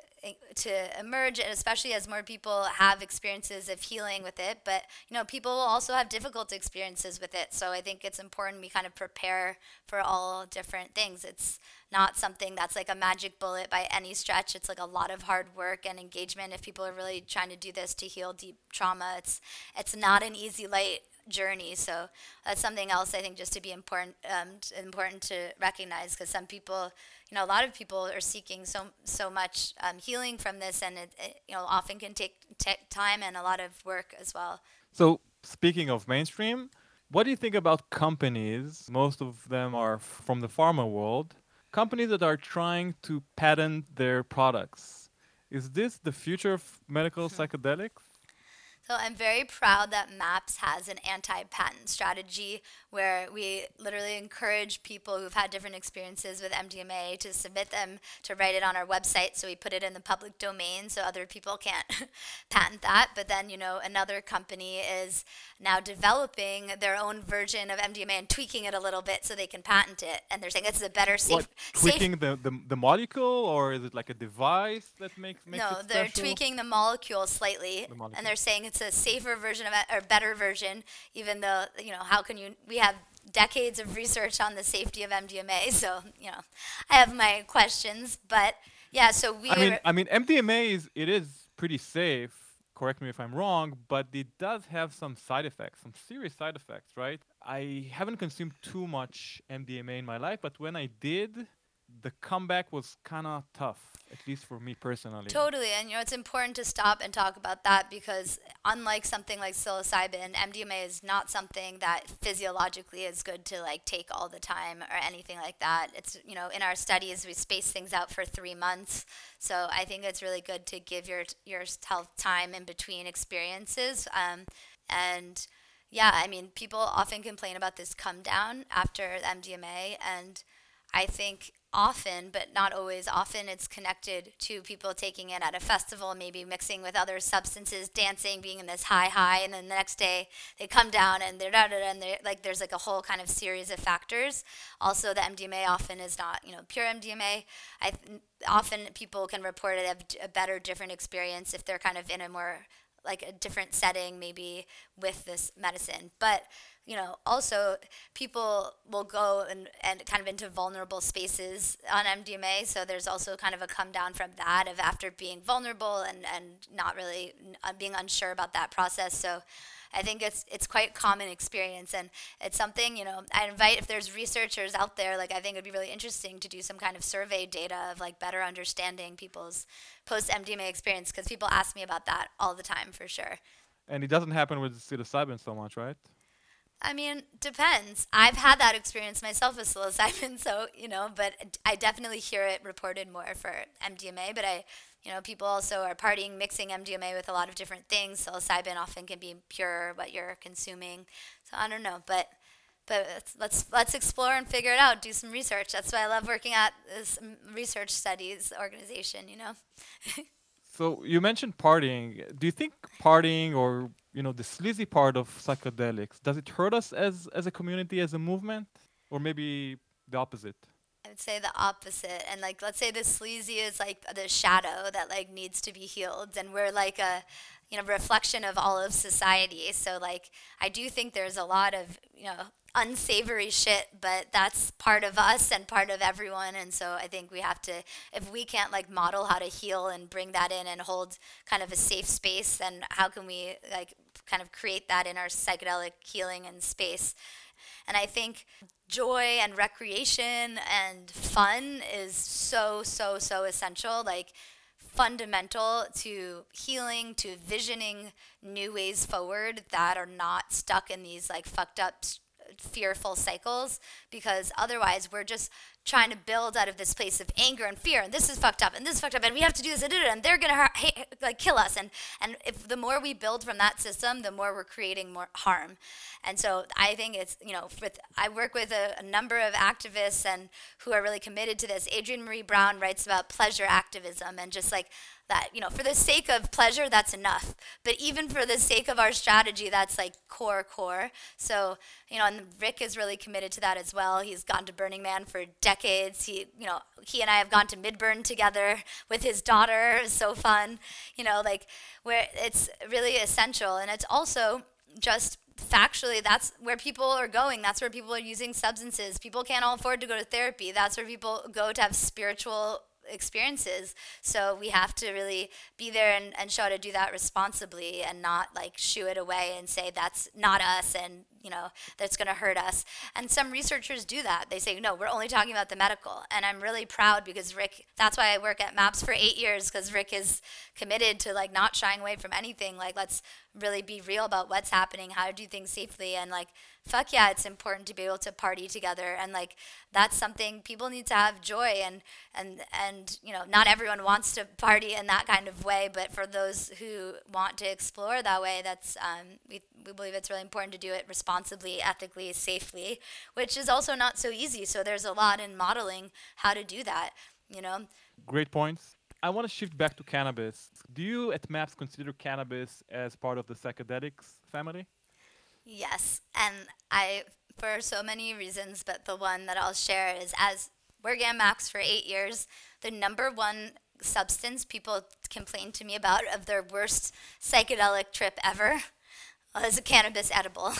to emerge, and especially as more people have experiences of healing with it. But, you know, people will also have difficult experiences with it. So I think it's important we kind of prepare for all different things. It's not something that's like a magic bullet by any stretch. It's like a lot of hard work and engagement. If people are really trying to do this to heal deep trauma, it's it's not an easy, light journey. So that's something else I think just to be important um, important to recognize, because some people, you know, a lot of people are seeking so so much um, healing from this, and it, it you know often can take t- time and a lot of work as well. So speaking of mainstream, what do you think about companies? Most of them are from the pharma world. Companies that are trying to patent their products. Is this the future of medical psychedelics? So I'm very proud that MAPS has an anti-patent strategy where we literally encourage people who've had different experiences with M D M A to submit them, to write it on our website, so we put it in the public domain so other people can't patent that. But then, you know, another company is now developing their own version of M D M A and tweaking it a little bit so they can patent it. And they're saying it's a better, safe... What, tweaking safe the, the, the molecule, or is it like a device that makes, makes no, it special? No, they're tweaking the molecule slightly, the molecule. And they're saying it's a safer version of it, or better version, even though, you know, how can you... We have decades of research on the safety of M D M A, so, you know, I have my questions, but, yeah, so we... I mean, I mean, M D M A is, it is pretty safe, correct me if I'm wrong, but it does have some side effects, some serious side effects, right? I haven't consumed too much M D M A in my life, but when I did, the comeback was kind of tough, at least for me personally. Totally, and you know, it's important to stop and talk about that because unlike something like psilocybin, M D M A is not something that physiologically is good to like take all the time or anything like that. It's, you know, in our studies, we space things out for three months. So I think it's really good to give your yourself time in between experiences. Um, and yeah, I mean, people often complain about this come down after M D M A, and I think often, but not always, often it's connected to people taking it at a festival, maybe mixing with other substances, dancing, being in this high high, and then the next day they come down and they're da da da, and they're, like there's like a whole kind of series of factors. Also, the M D M A often is not, you know, pure M D M A. I th- often people can report it a, a better, different experience if they're kind of in a more like a different setting, maybe with this medicine, but. You know, also people will go and, and kind of into vulnerable spaces on M D M A. So there's also kind of a come down from that of after being vulnerable and, and not really uh, being unsure about that process. So I think it's it's quite common experience, and it's something, you know, I invite, if there's researchers out there, like I think it'd be really interesting to do some kind of survey data of like better understanding people's post-M D M A experience, because people ask me about that all the time for sure. And it doesn't happen with psilocybin so much, right? I mean, depends. I've had that experience myself with psilocybin, so, you know, but I definitely hear it reported more for M D M A, but I, you know, people also are partying, mixing M D M A with a lot of different things. Psilocybin often can be pure, what you're consuming. So I don't know, but but let's, let's let's explore and figure it out, do some research. That's why I love working at this research studies organization, you know. So you mentioned partying. Do you think partying, or you know, the sleazy part of psychedelics, does it hurt us as as a community, as a movement, or maybe the opposite? I would say the opposite. And like, let's say the sleazy is like the shadow that like needs to be healed, and we're like a, you know, reflection of all of society. So like, I do think there's a lot of, you know, unsavory shit, but that's part of us and part of everyone. And so I think we have to, if we can't like model how to heal and bring that in and hold kind of a safe space, then how can we like kind of create that in our psychedelic healing and space? And I think joy and recreation and fun is so, so, so essential, like fundamental to healing, to visioning new ways forward that are not stuck in these like fucked up fearful cycles, because otherwise we're just trying to build out of this place of anger and fear, and this is fucked up, and this is fucked up, and we have to do this, and they're gonna ha- ha- like kill us, and and if the more we build from that system, the more we're creating more harm. And so I think it's, you know, with I work with a, a number of activists and who are really committed to this. Adrienne Maree Brown writes about pleasure activism, and just like that, you know, for the sake of pleasure, that's enough. But even for the sake of our strategy, that's like core, core. So, you know, and Rick is really committed to that as well. He's gone to Burning Man for decades. He, you know, he and I have gone to Midburn together with his daughter. It's so fun, you know, like where it's really essential. And it's also just factually, that's where people are going. That's where people are using substances. People can't all afford to go to therapy. That's where people go to have spiritual experiences. So we have to really be there and, and show how to do that responsibly, and not like shoo it away and say that's not us, and you know, that's going to hurt us. And some researchers do that. They say, no, we're only talking about the medical. And I'm really proud, because Rick, that's why I work at MAPS for eight years, because Rick is committed to like not shying away from anything. Like, let's really be real about what's happening, how to do things safely, and like fuck yeah, it's important to be able to party together, and like that's something people need to have joy, and and and you know, not everyone wants to party in that kind of way, but for those who want to explore that way, that's um, we we believe it's really important to do it responsibly, ethically, safely, which is also not so easy. So there's a lot in modeling how to do that, you know. Great points. I want to shift back to cannabis. Do you at MAPS consider cannabis as part of the psychedelics family? Yes, and I, for so many reasons, but the one that I'll share is as working at Max for eight years, the number one substance people complain to me about of their worst psychedelic trip ever was a cannabis edible.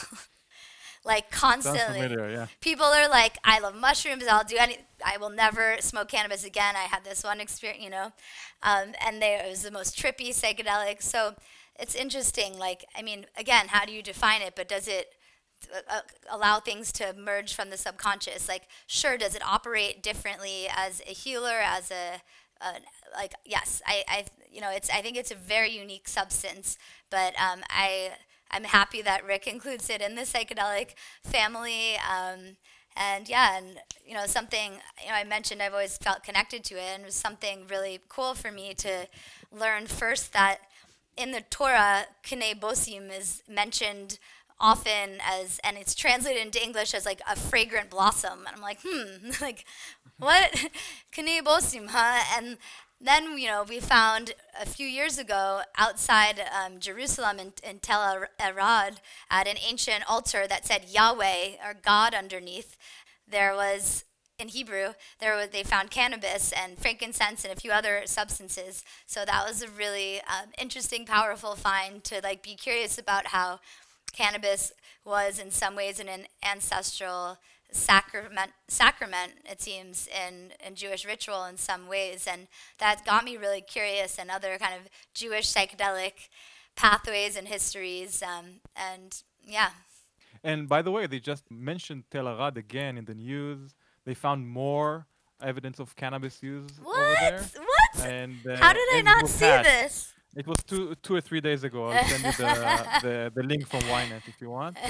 Like Sounds constantly. familiar, yeah. People are like, I love mushrooms. I'll do any. I will never smoke cannabis again. I had this one experience, you know, um, and they, it was the most trippy psychedelic. So it's interesting. Like, I mean, again, how do you define it? But does it uh, uh, allow things to merge from the subconscious? Like, sure, does it operate differently as a healer, as a uh, like? Yes, I, I, you know, it's. I think it's a very unique substance. But um, I. I'm happy that Rick includes it in the psychedelic family. Um, and yeah, and you know, something, you know, I mentioned I've always felt connected to it, and it was something really cool for me to learn first that in the Torah, K'nei Bosim is mentioned often as, and it's translated into English as like a fragrant blossom. And I'm like, hmm, like, what? K'nei Bosim, huh? And then, you know, we found a few years ago outside um, Jerusalem in, in Tel Arad at an ancient altar that said Yahweh, or God, underneath. There was, in Hebrew, there was, they found cannabis and frankincense and a few other substances. So that was a really um, interesting, powerful find to like be curious about how cannabis was in some ways an, an ancestral sacrament, sacrament it seems, in, in Jewish ritual in some ways. And that got me really curious in other kind of Jewish psychedelic pathways and histories. Um, and yeah. And by the way, they just mentioned Tel Arad again in the news. They found more evidence of cannabis use What? over there. What? And uh, How did I and it not was see hashed. this? It was two, two or three days ago. I'll send you the, the, the link from Ynet if you want.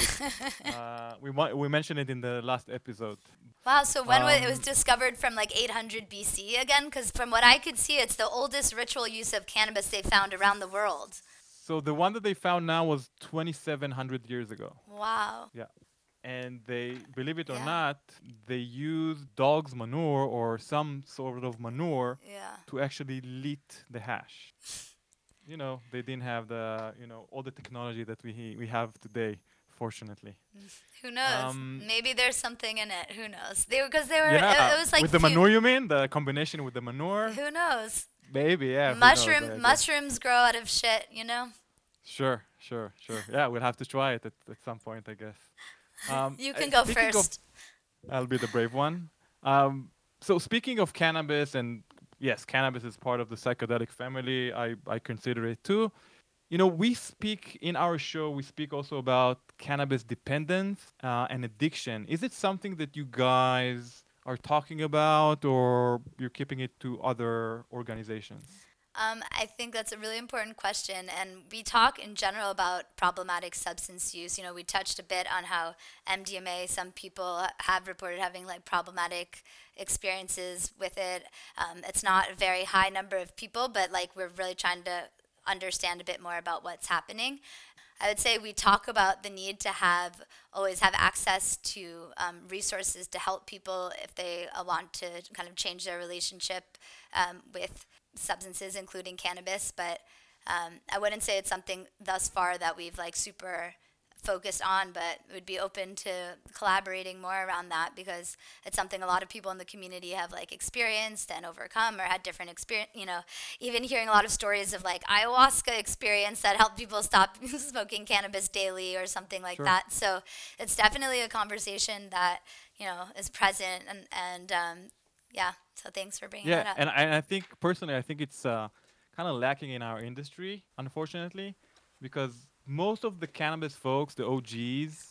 Uh, we mi- we mentioned it in the last episode. Wow, so when wa- it was Um, discovered from like eight hundred B C again? Because from what I could see, it's the oldest ritual use of cannabis they found around the world. So the one that they found now was twenty-seven hundred years ago. Wow. Yeah. And they, believe it or Yeah. not, they use dog's manure or some sort of manure Yeah. to actually leat the hash. You know, they didn't have the, you know, all the technology that we we have today, fortunately. Who knows? Um, Maybe there's something in it. Who knows? They because they were. Yeah, It, it was like with the few- manure, you mean the combination with the manure? Who knows? Maybe, yeah. who knows, Mushroom I guess. mushrooms grow out of shit. You know. Sure, sure, sure. Yeah, we'll have to try it at, at some point, I guess. Um, You uh, can go speaking of- first. I'll be the brave one. Um, so speaking of cannabis, and yes, cannabis is part of the psychedelic family. I, I consider it too. You know, we speak in our show, we speak also about cannabis dependence uh, and addiction. Is it something that you guys are talking about, or you're keeping it to other organizations? Um, I think that's a really important question, and we talk in general about problematic substance use. You know, we touched a bit on how M D M A, some people have reported having like problematic experiences with it. Um, it's not a very high number of people, but like we're really trying to understand a bit more about what's happening. I would say we talk about the need to have always have access to um, resources to help people if they uh, want to kind of change their relationship um, with substances, including cannabis. But um, I wouldn't say it's something thus far that we've like super focused on, but would be open to collaborating more around that because it's something a lot of people in the community have like experienced and overcome or had different experience, you know, even hearing a lot of stories of like ayahuasca experience that helped people stop smoking cannabis daily or something like Sure. that. So it's definitely a conversation that, you know, is present and, and um, yeah, so thanks for bringing that Yeah, up. and I, and I think personally, I think it's uh, kind of lacking in our industry, unfortunately, because most of the cannabis folks, the O Gs,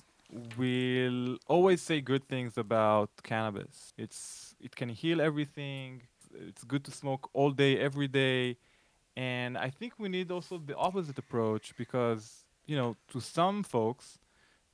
will always say good things about cannabis. It's it can heal everything. It's good to smoke all day, every day, and I think we need also the opposite approach because you know, to some folks,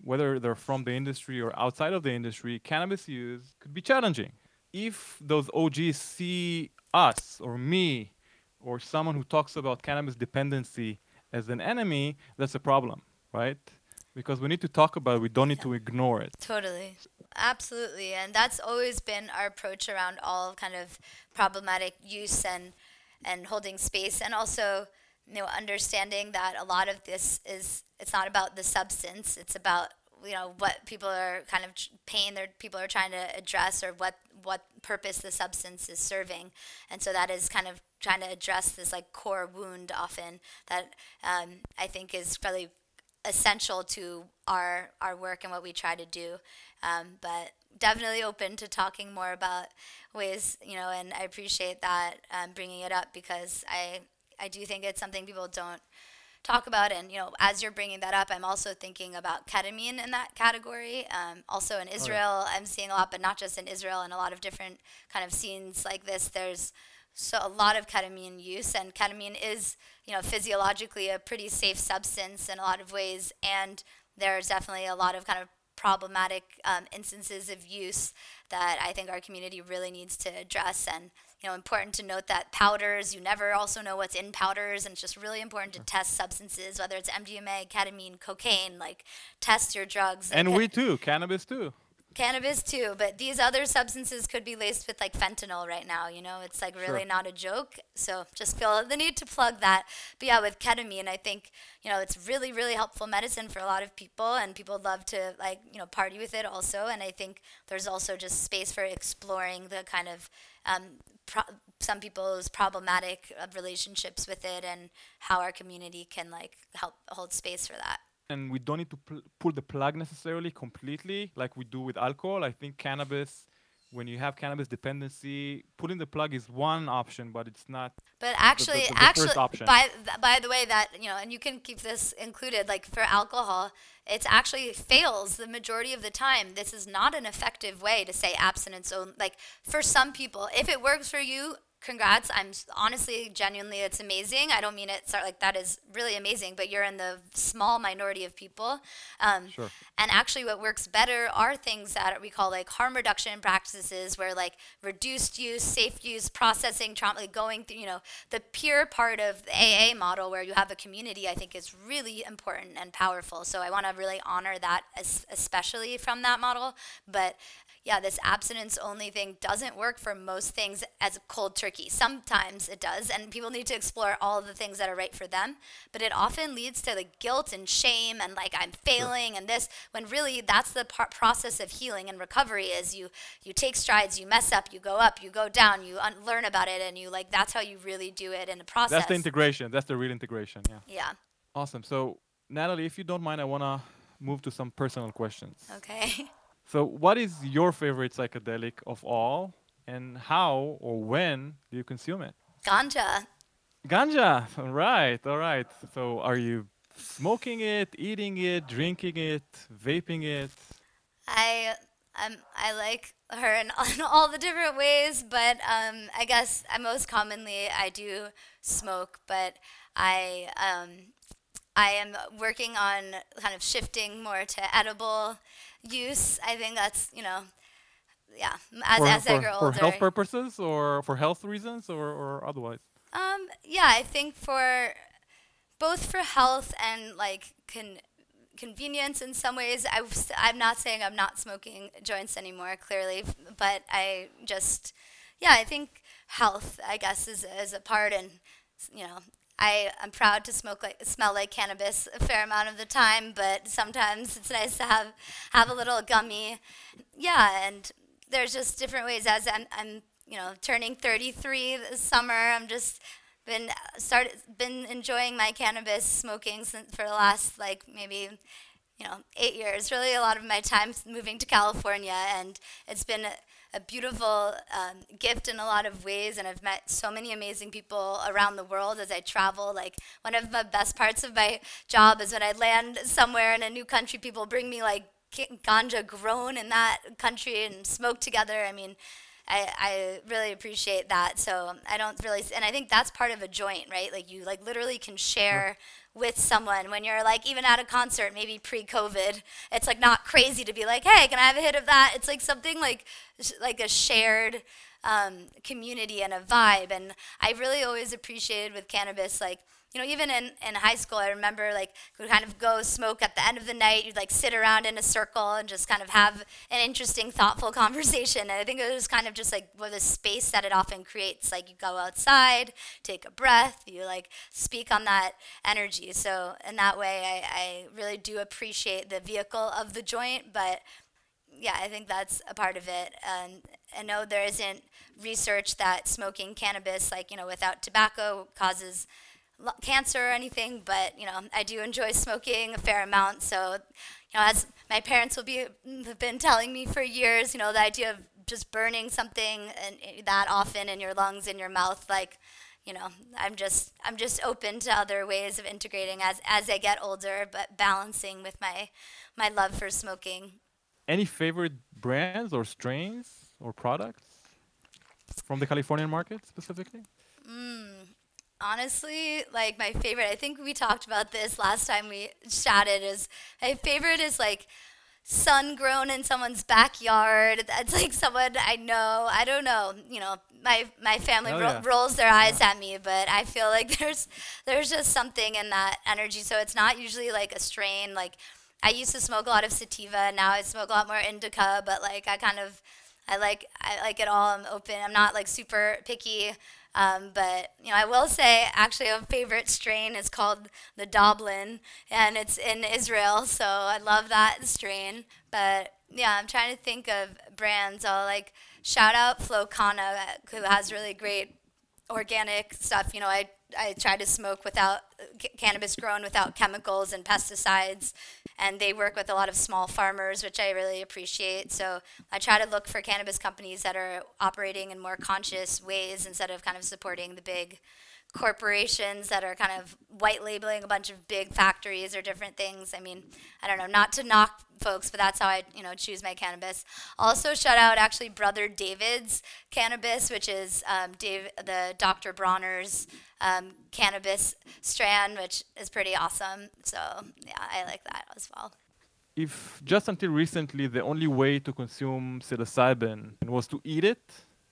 whether they're from the industry or outside of the industry, cannabis use could be challenging. If those O Gs see us or me or someone who talks about cannabis dependency as an enemy, that's a problem, right? Because we need to talk about it, we don't need to ignore it. Totally. Absolutely. And that's always been our approach around all kind of problematic use and and holding space, and also, you know, understanding that a lot of this is, it's not about the substance, it's about, you know, what people are kind of tr- pain that people are trying to address, or what what purpose the substance is serving. And so that is kind of trying to address this like core wound often that um, I think is really essential to our our work and what we try to do. Um, but definitely open to talking more about ways, you know, and I appreciate that, um, bringing it up, because I I do think it's something people don't talk about. And, you know, as you're bringing that up, I'm also thinking about ketamine in that category. Um, also in Israel, I'm seeing a lot, but not just in Israel, and a lot of different kind of scenes like this. There's so a lot of ketamine use, and ketamine is, you know, physiologically a pretty safe substance in a lot of ways, and there's definitely a lot of kind of problematic um, instances of use that I think our community really needs to address. And, you know, important to note that powders, you never also know what's in powders, and it's just really important to test substances, whether it's M D M A, ketamine, cocaine, like test your drugs. And like, we too, cannabis too. Cannabis too, but these other substances could be laced with like fentanyl right now, you know, it's like really Sure. not a joke. So just feel the need to plug that. But yeah, with ketamine, I think, you know, it's really, really helpful medicine for a lot of people, and people love to like, you know, party with it also. And I think there's also just space for exploring the kind of um, pro- some people's problematic uh, relationships with it, and how our community can like help hold space for that. And we don't need to pl- pull the plug necessarily completely like we do with alcohol. I think cannabis, when you have cannabis dependency, pulling the plug is one option, but it's not. But actually, the- the actually, first option. by th- by the way, that, you know, and you can keep this included. Like for alcohol, it's actually fails the majority of the time. This is not an effective way to say abstinence. So, like for some people, if it works for you, congrats. I'm s- honestly, genuinely, it's amazing. I don't mean it start like that is really amazing, but you're in the small minority of people. Um, Sure. And actually, what works better are things that we call like harm reduction practices, where like reduced use, safe use, processing, trauma, like going through, you know, the peer part of the A A model where you have a community, I think is really important and powerful. So I want to really honor that, es- especially from that model. But yeah, this abstinence only thing doesn't work for most things as a cold turkey. Sometimes it does, and people need to explore all of the things that are right for them. But it often leads to like guilt and shame and like I'm failing and this, when really that's the par- process of healing and recovery. Is you you take strides, you mess up, you go up, you go down, you un- learn about it, and you like that's how you really do it in the process. That's the integration. That's the real integration. Yeah. Yeah. Awesome. So, Natalie, if you don't mind, I want to move to some personal questions. Okay. So, what is your favorite psychedelic of all, and how or when do you consume it? Ganja. Ganja. All right. All right. So, are you smoking it, eating it, drinking it, vaping it? I um I like her in, in all the different ways, but um I guess I most commonly I do smoke, but I um I am working on kind of shifting more to edible use. I think that's, you know, yeah, as for, as I for, grow for older. health purposes or for health reasons or, or otherwise? Um yeah, I think for both for health and like con- convenience in some ways. I was, I'm not saying I'm not smoking joints anymore, clearly, but I just, yeah, I think health, I guess, is, is a part, and, you know, I, I'm proud to smoke like smell like cannabis a fair amount of the time, but sometimes it's nice to have have a little gummy. Yeah, and there's just different ways. As I'm, I'm you know, turning thirty-three this summer, I'm just been started been enjoying my cannabis smoking since for the last like maybe you know eight years. Really, a lot of my time moving to California, and it's been a, a beautiful um, gift in a lot of ways. And I've met so many amazing people around the world as I travel. Like one of the best parts of my job is when I land somewhere in a new country, people bring me like ganja grown in that country and smoke together. I mean, I, I really appreciate that. So I don't really, and I think that's part of a joint, right? Like you like literally can share with someone when you're like even at a concert, maybe pre-COVID. It's like not crazy to be like, hey, can I have a hit of that? It's like something like like a shared um, community and a vibe. And I really always appreciated with cannabis, like, you know, even in, in high school, I remember like we'd kind of go smoke at the end of the night. You'd like sit around in a circle and just kind of have an interesting, thoughtful conversation. And I think it was kind of just like well, the space that it often creates. Like you go outside, take a breath, you like speak on that energy. So in that way, I, I really do appreciate the vehicle of the joint. But yeah, I think that's a part of it. And I know there isn't research that smoking cannabis, like, you know, without tobacco causes cancer or anything, but you know, I do enjoy smoking a fair amount. So, you know, as my parents will be have been telling me for years, you know, the idea of just burning something and that often in your lungs, in your mouth, like, you know, I'm just I'm just open to other ways of integrating as as I get older, but balancing with my my love for smoking. Any favorite brands or strains or products from the Californian market specifically? Mm. Honestly, like my favorite, I think we talked about this last time we chatted, is my favorite is like sun grown in someone's backyard. That's like someone I know. I don't know, you know, my my family Oh, ro- yeah. rolls their eyes Yeah. at me, but I feel like there's there's just something in that energy. So it's not usually like a strain. Like I used to smoke a lot of sativa, now I smoke a lot more indica, but like I kind of I like I like it all. I'm open. I'm not like super picky. Um, but you know, I will say actually a favorite strain is called the Doblin, and it's in Israel, so I love that strain. But yeah, I'm trying to think of brands. I'll like shout out Flocana, who has really great organic stuff. You know, I I try to smoke without c- cannabis grown without chemicals and pesticides, and they work with a lot of small farmers, which I really appreciate. So I try to look for cannabis companies that are operating in more conscious ways instead of kind of supporting the big corporations that are kind of white labeling a bunch of big factories or different things. I mean, I don't know, not to knock folks, but that's how I, you know, choose my cannabis. Also, shout out actually Brother David's cannabis, which is um, Dave, the Doctor Bronner's um, cannabis strand, which is pretty awesome. So yeah, I like that as well. If just until recently the only way to consume psilocybin was to eat it,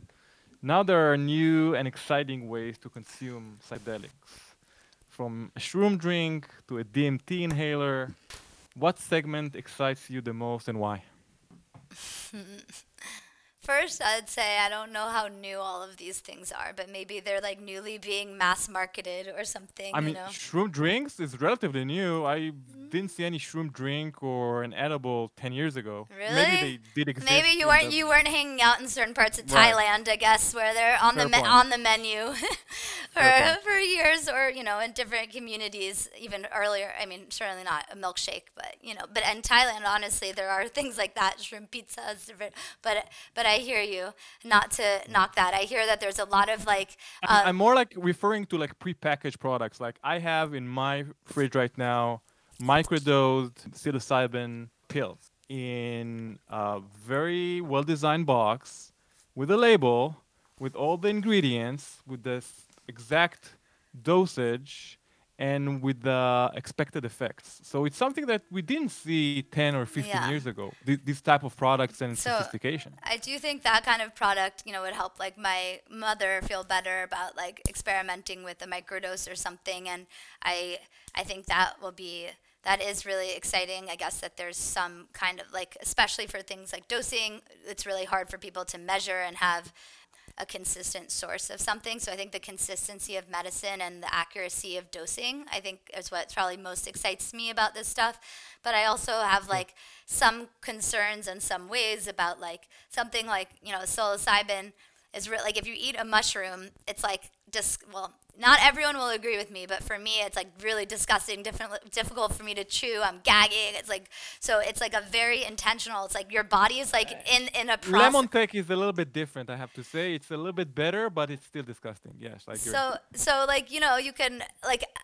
now there are new and exciting ways to consume psychedelics. From a shroom drink to a D M T inhaler, what segment excites you the most and why? First, I'd say I don't know how new all of these things are, but maybe they're like newly being mass marketed or something, I you mean, know? shroom drinks is relatively new. I didn't see any shroom drink or an edible ten years ago. Really? Maybe they did exist. Maybe you in weren't the- you weren't hanging out in certain parts of Right. Thailand, I guess, where they're on Fair the me- point. on the menu for Fair point. for years, or you know, in different communities, even earlier. I mean, certainly not a milkshake, but you know, but in Thailand, honestly, there are things like that, shrimp pizzas, different. But but I hear you. Not to knock that, I hear that there's a lot of like. I'm, Uh, I'm more like referring to like prepackaged products. Like I have in my fridge right now microdosed psilocybin pills in a very well-designed box with a label, with all the ingredients, with the s- exact dosage, and with the expected effects. So it's something that we didn't see ten or fifteen Yeah. years ago. Th- this type of products and So, sophistication. I do think that kind of product, you know, would help like my mother feel better about like experimenting with a microdose or something, and I I think that will be that is really exciting. I guess that there's some kind of like, especially for things like dosing, it's really hard for people to measure and have a consistent source of something. So I think the consistency of medicine and the accuracy of dosing, I think, is what probably most excites me about this stuff. But I also have like some concerns in some ways about like something like, you know, psilocybin is re- like if you eat a mushroom, it's like dis- well, not everyone will agree with me, but for me, it's like really disgusting, different, difficult for me to chew. I'm gagging. It's like so. It's like a very intentional. It's like your body is like in in a process. Lemon tech is a little bit different, I have to say. It's a little bit better, but it's still disgusting. Yes, like you're So so like you know you can like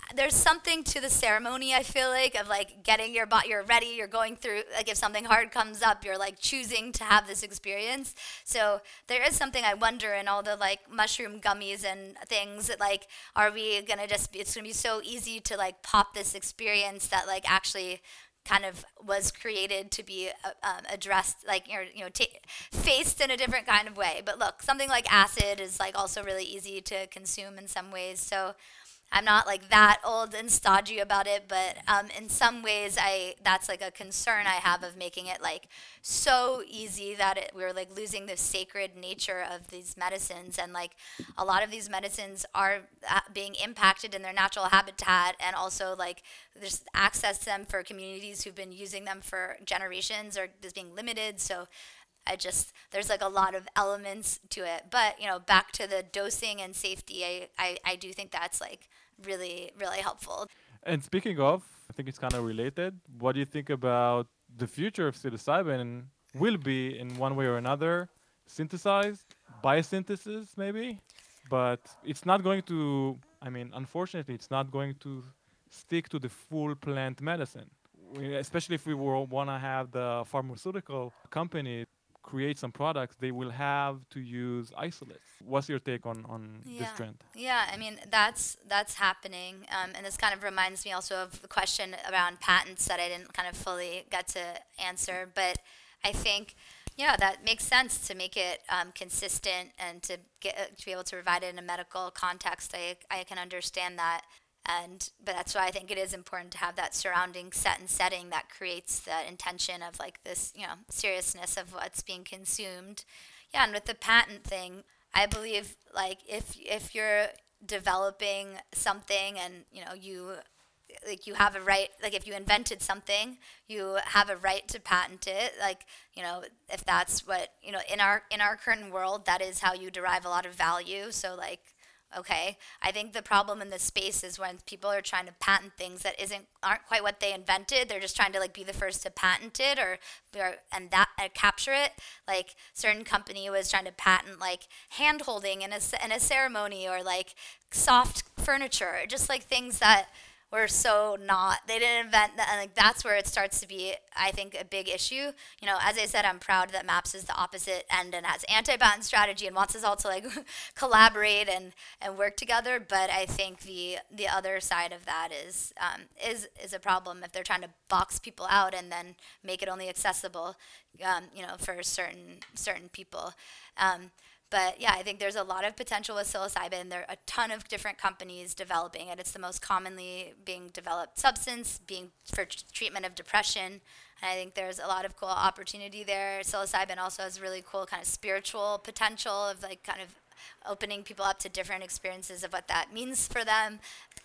there's something to the ceremony, I feel like, of like getting your body, you're ready, you're going through, like if something hard comes up, you're like choosing to have this experience. So there is something I wonder in all the like mushroom gummies and things that like, are we gonna just, be, it's gonna be so easy to like pop this experience that like actually kind of was created to be uh, um, addressed, like, you know, you know ta faced in a different kind of way. But look, something like acid is like also really easy to consume in some ways. So I'm not like that old and stodgy about it, but um, in some ways, I that's like a concern I have of making it like so easy that it, we're like losing the sacred nature of these medicines, and like a lot of these medicines are uh, being impacted in their natural habitat, and also like there's access to them for communities who've been using them for generations or is being limited. So I just, there's like a lot of elements to it. But, you know, back to the dosing and safety, I, I, I do think that's like really, really helpful. And speaking of, I think it's kind of related. What do you think about the future of psilocybin will be in one way or another synthesized, biosynthesis maybe, but it's not going to, I mean, unfortunately, it's not going to stick to the full plant medicine. We, especially if we want to have the pharmaceutical company create some products, they will have to use isolates. What's your take on, on this Yeah, trend? yeah. I mean, that's that's happening, um, and this kind of reminds me also of the question around patents that I didn't kind of fully get to answer. But I think, yeah, that makes sense to make it um, consistent and to get uh, to be able to provide it in a medical context. I I can understand that. And but that's why I think it is important to have that surrounding set and setting that creates the intention of like this, you know, seriousness of what's being consumed. Yeah, and with the patent thing, I believe like if if you're developing something and you know you like you have a right, like if you invented something, you have a right to patent it. Like, you know, if that's what, you know, in our in our current world, that is how you derive a lot of value. So like, okay, I think the problem in this space is when people are trying to patent things that isn't aren't quite what they invented. They're just trying to like be the first to patent it, or, or and that uh, capture it. Like certain company was trying to patent like hand holding in a in a ceremony, or like soft furniture, just like things that were so not, they didn't invent that, and like that's where it starts to be, I think, a big issue. You know, as I said, I'm proud that MAPS is the opposite end and has anti-patent strategy and wants us all to like collaborate and, and work together. But I think the the other side of that is um, is is a problem if they're trying to box people out and then make it only accessible, um, you know, for certain certain people. Um, But yeah, I think there's a lot of potential with psilocybin. There are a ton of different companies developing it. It's the most commonly being developed substance, being for t- treatment of depression. And I think there's a lot of cool opportunity there. Psilocybin also has really cool kind of spiritual potential of like kind of opening people up to different experiences of what that means for them.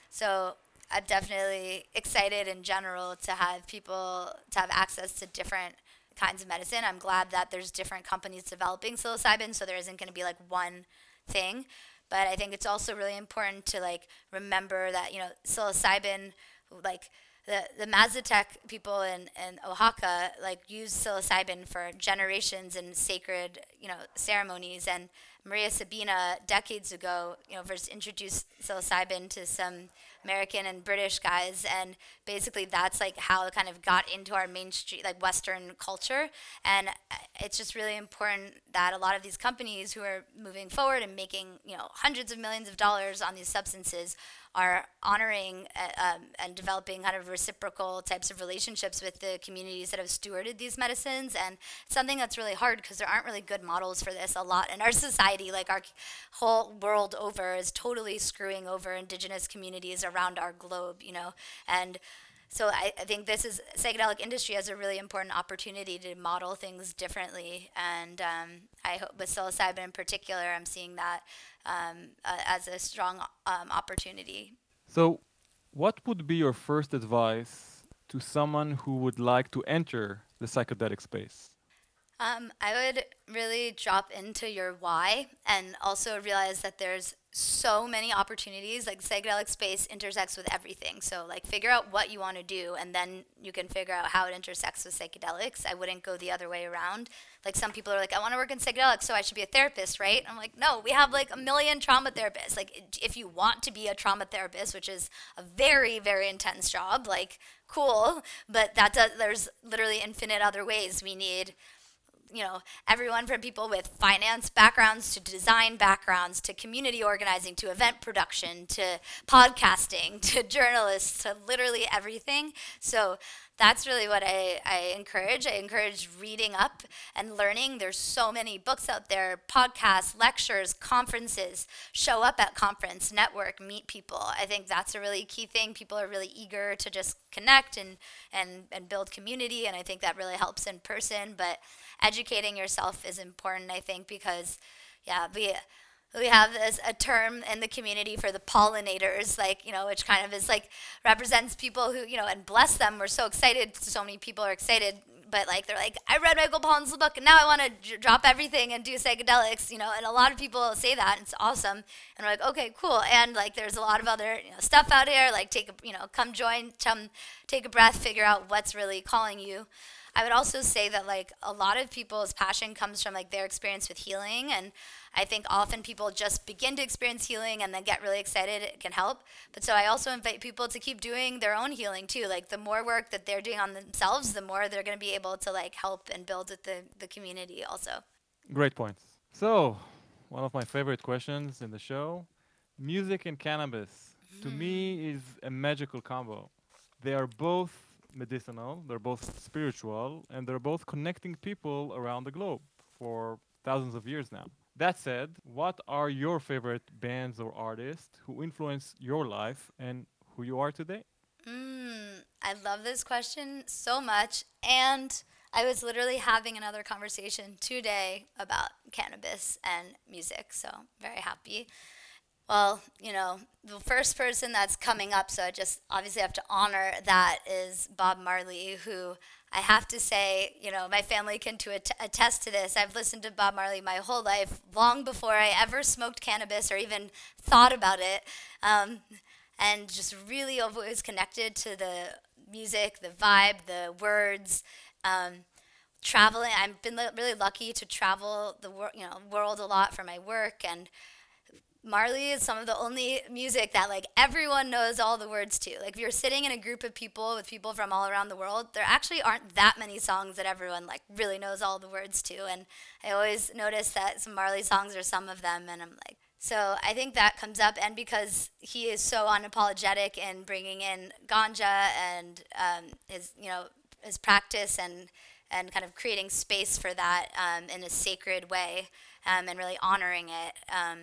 So I'm definitely excited in general to have people to have access to different kinds of medicine. I'm glad that there's different companies developing psilocybin, so there isn't going to be like one thing. But I think it's also really important to like remember that, you know, psilocybin, like the the Mazatec people in, in Oaxaca, like use psilocybin for generations in sacred, you know, ceremonies. And Maria Sabina decades ago, you know, first introduced psilocybin to some American and British guys, and basically that's like how it kind of got into our mainstream, like Western culture. And it's just really important that a lot of these companies who are moving forward and making, you know, hundreds of millions of dollars on these substances are honoring uh, um, and developing kind of reciprocal types of relationships with the communities that have stewarded these medicines. And it's something that's really hard because there aren't really good models for this a lot in our society. Like our whole world over is totally screwing over indigenous communities around our globe, you know. And so I, I think this is, psychedelic industry has a really important opportunity to model things differently. And um, I hope with psilocybin in particular, I'm seeing that um, uh, as a strong um, opportunity. So, what would be your first advice to someone who would like to enter the psychedelic space? Um, I would really drop into your why and also realize that there's so many opportunities. Like psychedelic space intersects with everything. So like figure out what you want to do and then you can figure out how it intersects with psychedelics. I wouldn't go the other way around. Like some people are like, I want to work in psychedelics, so I should be a therapist, right? I'm like, no, we have like a million trauma therapists. Like if you want to be a trauma therapist, which is a very, very intense job, like cool, but that does, there's literally infinite other ways we need, you know, everyone from people with finance backgrounds to design backgrounds to community organizing to event production to podcasting to journalists to literally everything. So that's really what I, I encourage. I encourage reading up and learning. There's so many books out there, podcasts, lectures, conferences. Show up at conference, network, meet people. I think that's a really key thing. People are really eager to just connect and, and, and build community, and I think that really helps in person. But educating yourself is important, I think, because, yeah, we... We have this, a term in the community for the pollinators, like, you know, which kind of is like represents people who, you know, and bless them. We're so excited. So many people are excited, but like, they're like, I read Michael Pollan's book and now I want to j- drop everything and do psychedelics, you know, and a lot of people say that. And it's awesome. And we're like, okay, cool. And like, there's a lot of other, you know, stuff out here, like take, a, you know, come join, come take a breath, figure out what's really calling you. I would also say that like a lot of people's passion comes from like their experience with healing, and I think often people just begin to experience healing and then get really excited. It can help. But so I also invite people to keep doing their own healing too. Like the more work that they're doing on themselves, the more they're going to be able to like help and build with the, the community also. Great points. So, one of my favorite questions in the show, music and cannabis, to me is a magical combo. They are both medicinal, they're both spiritual, and they're both connecting people around the globe for thousands of years now. That said, what are your favorite bands or artists who influence your life and who you are today? Mm, I love this question so much. And I was literally having another conversation today about cannabis and music, so I'm very happy. Well, you know, the first person that's coming up, so I just obviously have to honor that, is Bob Marley, who I have to say, you know, my family can to att- attest to this. I've listened to Bob Marley my whole life, long before I ever smoked cannabis or even thought about it, um, and just really always connected to the music, the vibe, the words. Um, traveling, I've been li- really lucky to travel the wor- you know world a lot for my work, and Marley is some of the only music that like everyone knows all the words to. Like if you're sitting in a group of people with people from all around the world, there actually aren't that many songs that everyone like really knows all the words to. And I always notice that some Marley songs are some of them, and I'm like, so I think that comes up, and because he is so unapologetic in bringing in ganja and um, his you know his practice and and kind of creating space for that um, in a sacred way um, and really honoring it. Um,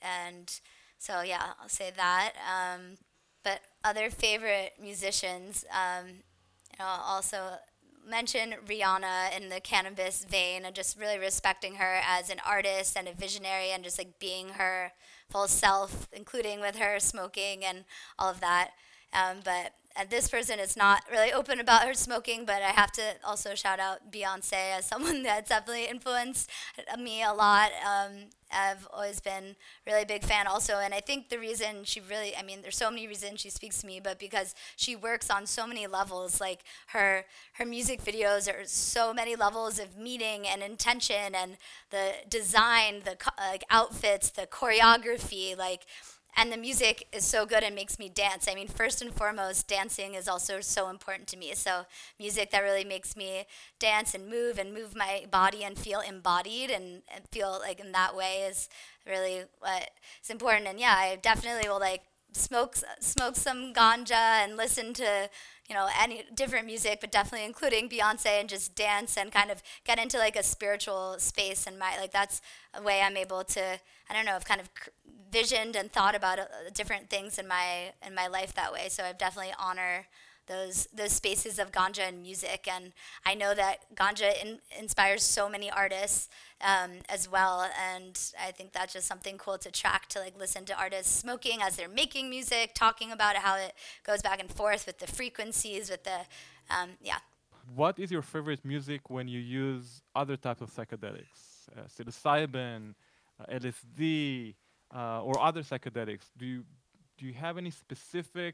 And so, yeah, I'll say that. Um, but other favorite musicians, um, you know, I'll also mention Rihanna in the cannabis vein, and just really respecting her as an artist and a visionary, and just like being her full self, including with her smoking and all of that. Um, but and this person is not really open about her smoking, but I have to also shout out Beyonce as someone that's definitely influenced me a lot. Um, I've always been really big fan also, and I think the reason she really, I mean, there's so many reasons she speaks to me, but because she works on so many levels, like her her music videos are so many levels of meaning and intention, and the design, the co- like outfits, the choreography, like. And the music is so good and makes me dance. I mean, first and foremost, dancing is also so important to me. So music that really makes me dance and move and move my body and feel embodied and, and feel like in that way is really what is important. And yeah, I definitely will like smoke smoke some ganja and listen to, you know, any different music, but definitely including Beyonce, and just dance and kind of get into like a spiritual space. And my like that's a way I'm able to, I don't know, I've kind of visioned and thought about uh, different things in my in my life that way. So I definitely honor those those spaces of ganja and music, and I know that ganja in, inspires so many artists um, as well, and I think that's just something cool to track, to like listen to artists smoking as they're making music, talking about how it goes back and forth with the frequencies, with the um, yeah. what is your favorite music when you use other types of psychedelics, uh, psilocybin, uh, L S D, uh, or other psychedelics? Do you do you have any specific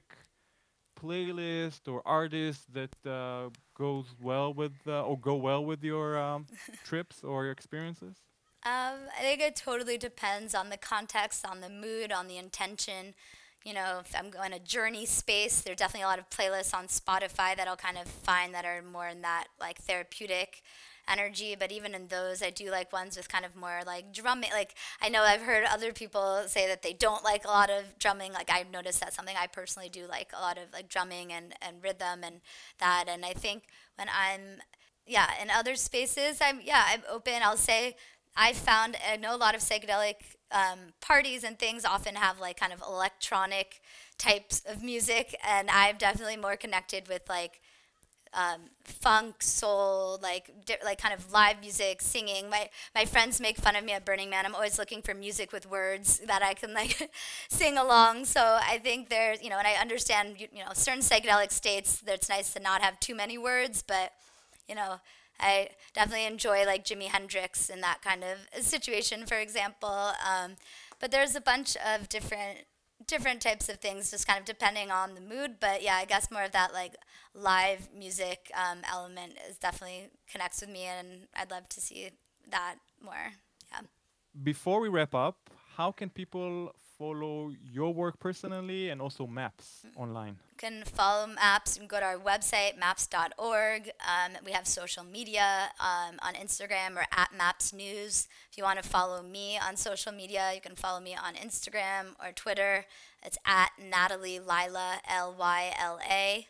playlist or artist that uh, goes well with uh, or go well with your um, trips or your experiences? Um, I think it totally depends on the context, on the mood, on the intention. You know, if I'm going a journey space, there's definitely a lot of playlists on Spotify that I'll kind of find that are more in that like therapeutic energy. But even in those, I do like ones with kind of more like drumming. Like I know I've heard other people say that they don't like a lot of drumming. Like I've noticed that's something I personally do like a lot of like drumming and, and rhythm and that. And I think when I'm, yeah, in other spaces, I'm, yeah, I'm open. I'll say I found, I know a lot of psychedelic um, parties and things often have like kind of electronic types of music, and I'm definitely more connected with like um, funk, soul, like di- like kind of live music, singing. My my friends make fun of me at Burning Man. I'm always looking for music with words that I can like sing along. So I think there's, you know, and I understand, you, you know, certain psychedelic states that it's nice to not have too many words, but you know, I definitely enjoy like Jimi Hendrix in that kind of situation, for example. Um, but there's a bunch of different different types of things, just kind of depending on the mood. But yeah, I guess more of that like live music um, element is definitely connects with me, and I'd love to see that more. Yeah. Before we wrap up, how can people follow your work personally and also MAPS online? You can follow MAPS. You can go to our website, maps dot org. Um, we have social media um, on Instagram or at MAPS News. If you want to follow me on social media, you can follow me on Instagram or Twitter. It's at Natalie Lila, L Y L A.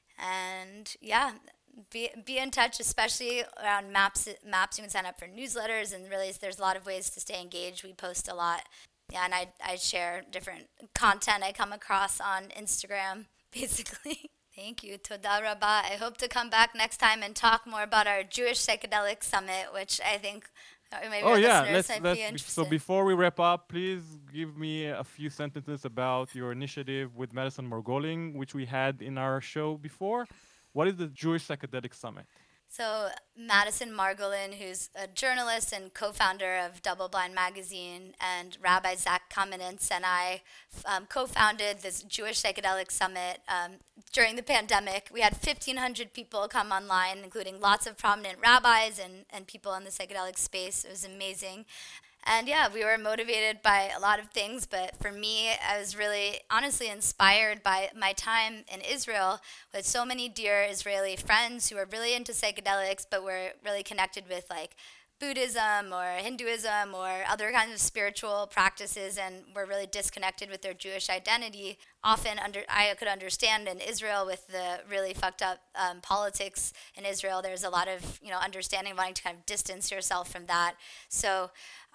And yeah, be be in touch, especially around maps. Maps, you can sign up for newsletters, and really, there's a lot of ways to stay engaged. We post a lot. Yeah, and I I share different content I come across on Instagram, basically. Thank you. Toda rabba. I hope to come back next time and talk more about our Jewish Psychedelic Summit, which I think uh, maybe Oh our yeah, listeners let's might let's. be Be, interested. so before we wrap up, please give me a few sentences about your initiative with Madison Margolin, which we had in our show before. What is the Jewish Psychedelic Summit? So Madison Margolin, who's a journalist and co-founder of Double Blind Magazine, and Rabbi Zach Kamenetz and I um, co-founded this Jewish Psychedelic Summit um, during the pandemic. We had fifteen hundred people come online, including lots of prominent rabbis and, and people in the psychedelic space. It was amazing. And yeah, we were motivated by a lot of things, but for me, I was really honestly inspired by my time in Israel with so many dear Israeli friends who were really into psychedelics, but were really connected with like Buddhism or Hinduism or other kinds of spiritual practices, and were really disconnected with their Jewish identity. Often under, I could understand in Israel with the really fucked up um, politics in Israel, there's a lot of, you know, understanding, wanting to kind of distance yourself from that. So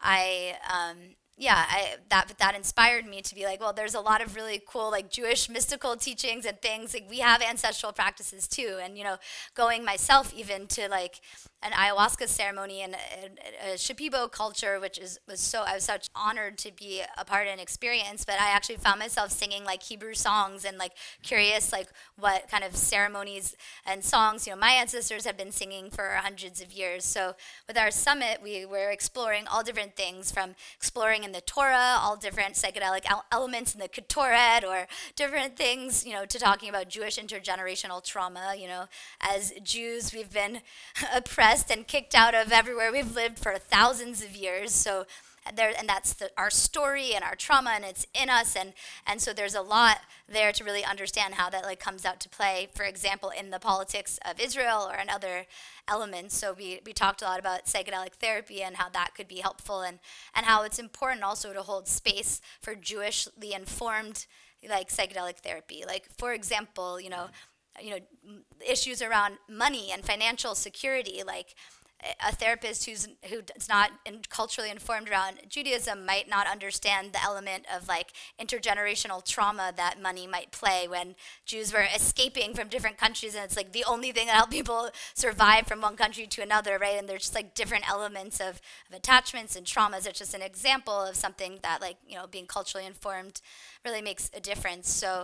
I, um, yeah, I, that that inspired me to be like, well, there's a lot of really cool like Jewish mystical teachings and things. Like we have ancestral practices too, and you know, going myself even to like an ayahuasca ceremony and a, a, a Shipibo culture, which is was so I was such honored to be a part and experience. But I actually found myself singing like Hebrew songs and like curious like what kind of ceremonies and songs, you know, my ancestors have been singing for hundreds of years. So with our summit, we were exploring all different things, from exploring in the Torah, all different psychedelic el- elements in the Ketoret, or different things, you know, to talking about Jewish intergenerational trauma. You know, as Jews, we've been oppressed and kicked out of everywhere we've lived for thousands of years. So there, and that's the, our story and our trauma, and it's in us, and and so there's a lot there to really understand how that like comes out to play, for example, in the politics of Israel or in other elements. So we we talked a lot about psychedelic therapy and how that could be helpful, and and how it's important also to hold space for Jewishly informed like psychedelic therapy. Like for example, you know, you know, issues around money and financial security, like a therapist who's who's not in culturally informed around Judaism might not understand the element of like intergenerational trauma that money might play when Jews were escaping from different countries, and it's like the only thing that helped people survive from one country to another, right? And there's just like different elements of, of attachments and traumas. It's just an example of something that like, you know, being culturally informed really makes a difference. So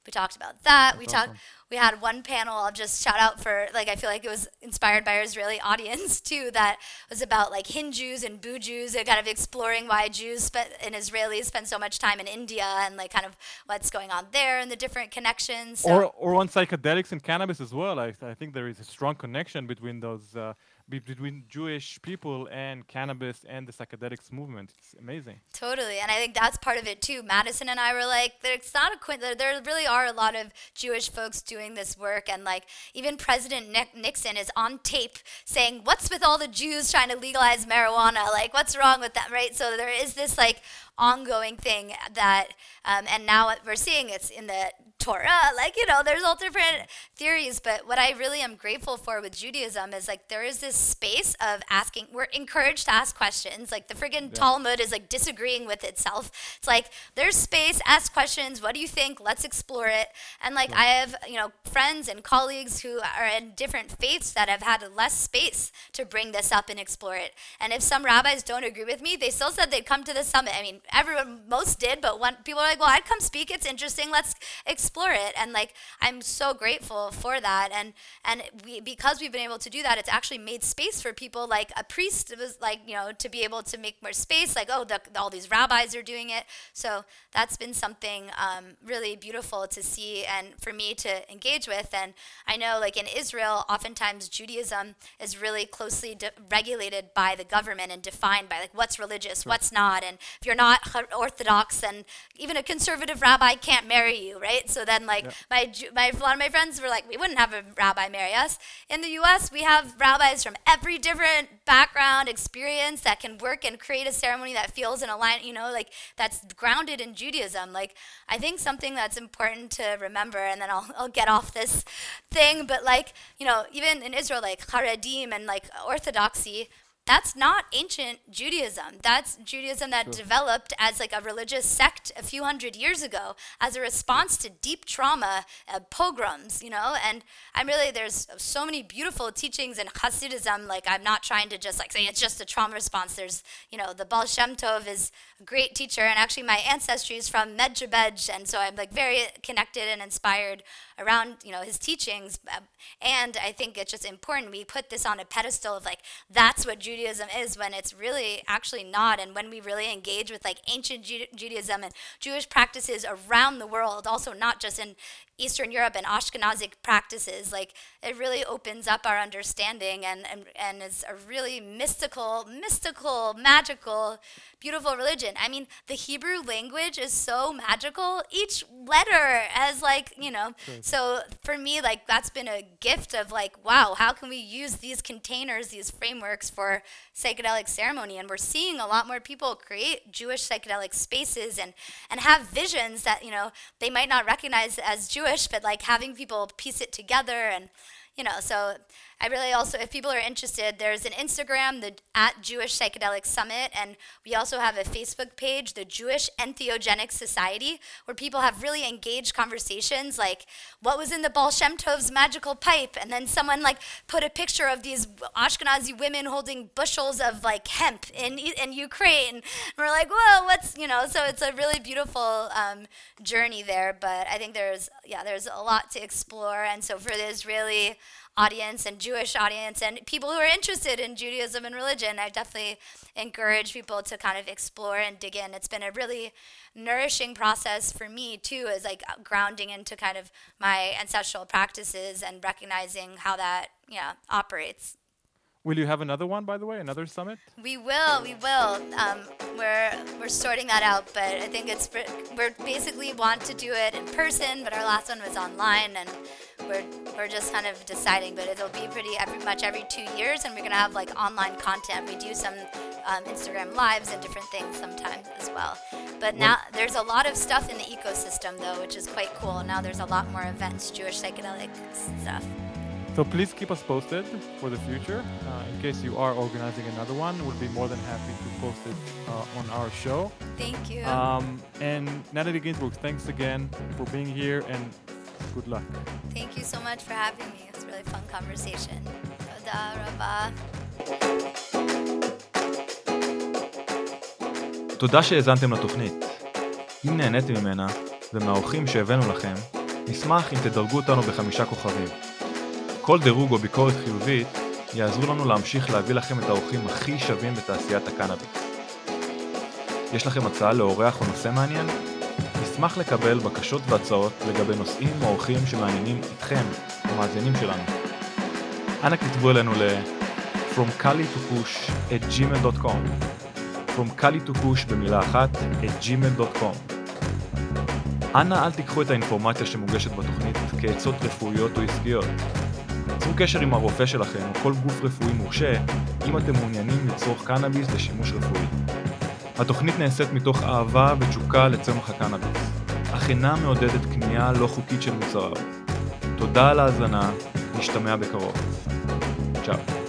we talked about that. That's we awesome. talked. We had one panel. I'll just shout out for like I feel like it was inspired by our Israeli audience too. That was about like Hindus and Bujus and kind of exploring why Jews spe- and Israelis spend so much time in India and like kind of what's going on there and the different connections. So. Or or on psychedelics and cannabis as well. I I think there is a strong connection between those. Uh, between Jewish people and cannabis and the psychedelics movement. It's amazing. Totally, and I think that's part of it too. Madison and I were like, it's not a quin- there, there really are a lot of Jewish folks doing this work, and like even President Nick- Nixon is on tape saying, what's with all the Jews trying to legalize marijuana? Like, what's wrong with that, right? So there is this like ongoing thing that, um, and now what we're seeing it's in the Torah, like, you know, there's all different theories, but what I really am grateful for with Judaism is like there is this space of asking, we're encouraged to ask questions, like the friggin' yeah. Talmud is like disagreeing with itself. It's like, there's space, ask questions, what do you think, let's explore it. And like yeah. I have, you know, friends and colleagues who are in different faiths that have had less space to bring this up and explore it. And if some rabbis don't agree with me, they still said they'd come to the summit. I mean, everyone, most did, but when people are like, well, I'd come speak, it's interesting, let's explore explore it. And like I'm so grateful for that, and and we, because we've been able to do that, it's actually made space for people like a priest was like, you know, to be able to make more space, like, oh, the, all these rabbis are doing it. So that's been something um, really beautiful to see and for me to engage with. And I know like in Israel, oftentimes Judaism is really closely de- regulated by the government and defined by like what's religious, right. what's not. And if you're not Orthodox, then even a conservative rabbi can't marry you, right? So then like yeah. my, my a lot of my friends were like, we wouldn't have a rabbi marry us. In the U S, we have rabbis from every different background, experience that can work and create a ceremony that feels in alignment, you know, like that's grounded in Judaism. Like I think something that's important to remember, and then I'll I'll get off this thing, but like, you know, even in Israel, like Haredim and like Orthodoxy, that's not ancient Judaism. That's Judaism that sure. developed as like a religious sect a few hundred years ago as a response to deep trauma, uh, pogroms, you know. And I'm really, there's so many beautiful teachings in Hasidism. Like I'm not trying to just like say it's just a trauma response. There's, you know, the Baal Shem Tov is a great teacher, and actually my ancestry is from Medjugorje, and so I'm like very connected and inspired around, you know, his teachings. And I think it's just important we put this on a pedestal of like that's what Judaism is, when it's really actually not. And when we really engage with like ancient Ju- Judaism and Jewish practices around the world, also not just in Eastern Europe and Ashkenazic practices, like it really opens up our understanding and, and, and is a really mystical, mystical, magical, beautiful religion. I mean, the Hebrew language is so magical. Each letter has like, you know, sure. So for me, like that's been a gift of like, wow, how can we use these containers, these frameworks for psychedelic ceremony? And we're seeing a lot more people create Jewish psychedelic spaces and, and have visions that, you know, they might not recognize as Jewish, but like having people piece it together. And you know, so I really also, if people are interested, there's an Instagram, the at Jewish Psychedelic Summit, and we also have a Facebook page, the Jewish Entheogenic Society, where people have really engaged conversations like, what was in the Baal Shem Tov's magical pipe? And then someone like put a picture of these Ashkenazi women holding bushels of like hemp in in Ukraine. And we're like, whoa, what's, you know, so it's a really beautiful um, journey there. But I think there's, yeah, there's a lot to explore. And so for the Israeli audience and Jewish audience and people who are interested in Judaism and religion, I definitely encourage people to kind of explore and dig in. It's been a really nourishing process for me too, is like grounding into kind of my ancestral practices and recognizing how that, yeah, operates. Will you have another one, by the way, another summit? We will, we will. Um, we're we're sorting that out, but I think it's we're basically want to do it in person, but our last one was online, and we're we're just kind of deciding. But it'll be pretty every much every two years, and we're gonna have like online content. We do some um, Instagram lives and different things sometimes as well. But now there's a lot of stuff in the ecosystem though, which is quite cool. Now there's a lot more events, Jewish psychedelic stuff. So please keep us posted for the future. Uh, in case you are organizing another one, we'll be more than happy to post it uh, on our show. Thank you. Um, and Natalie Ginsburg, thanks again for being here, and good luck. Thank you so much for having me. It was a really fun conversation. Toda rabba. תודה שהאזנתם לתוכנית. אם נהניתם ממנה ומהאורחים שהבאנו לכם, נשמח אם תדרגו אותנו בחמישה כוכבים. כל דירוג או ביקורת חיובית יעזרו לנו להמשיך להביא לכם את האורחים הכי שווים בתעשיית הקנאביס. יש לכם הצעה לאורח או נושא מעניין? נשמח לקבל בקשות והצעות לגבי נושאים או אורחים שמעניינים אתכם, המאזינים שלנו. אנא כתבו אלינו ל from kali to kush at gmail dot com from kali to kush במילה אחת at gmail dot com. אנא אל תיקחו את האינפורמציה שמוגשת בתוכנית כעצות רפואיות או עסקיות. צרו קשר עם הרופא שלכם או כל גוף רפואי מורשה אם אתם מעוניינים לצרוך קנאביס לשימוש רפואי. התוכנית נעשית מתוך אהבה ותשוקה לצמח הקנאביס, אך אינה מעודדת קנייה לא חוקית של מוצריו. תודה על ההאזנה, נשתמע בקרוב. צ'או.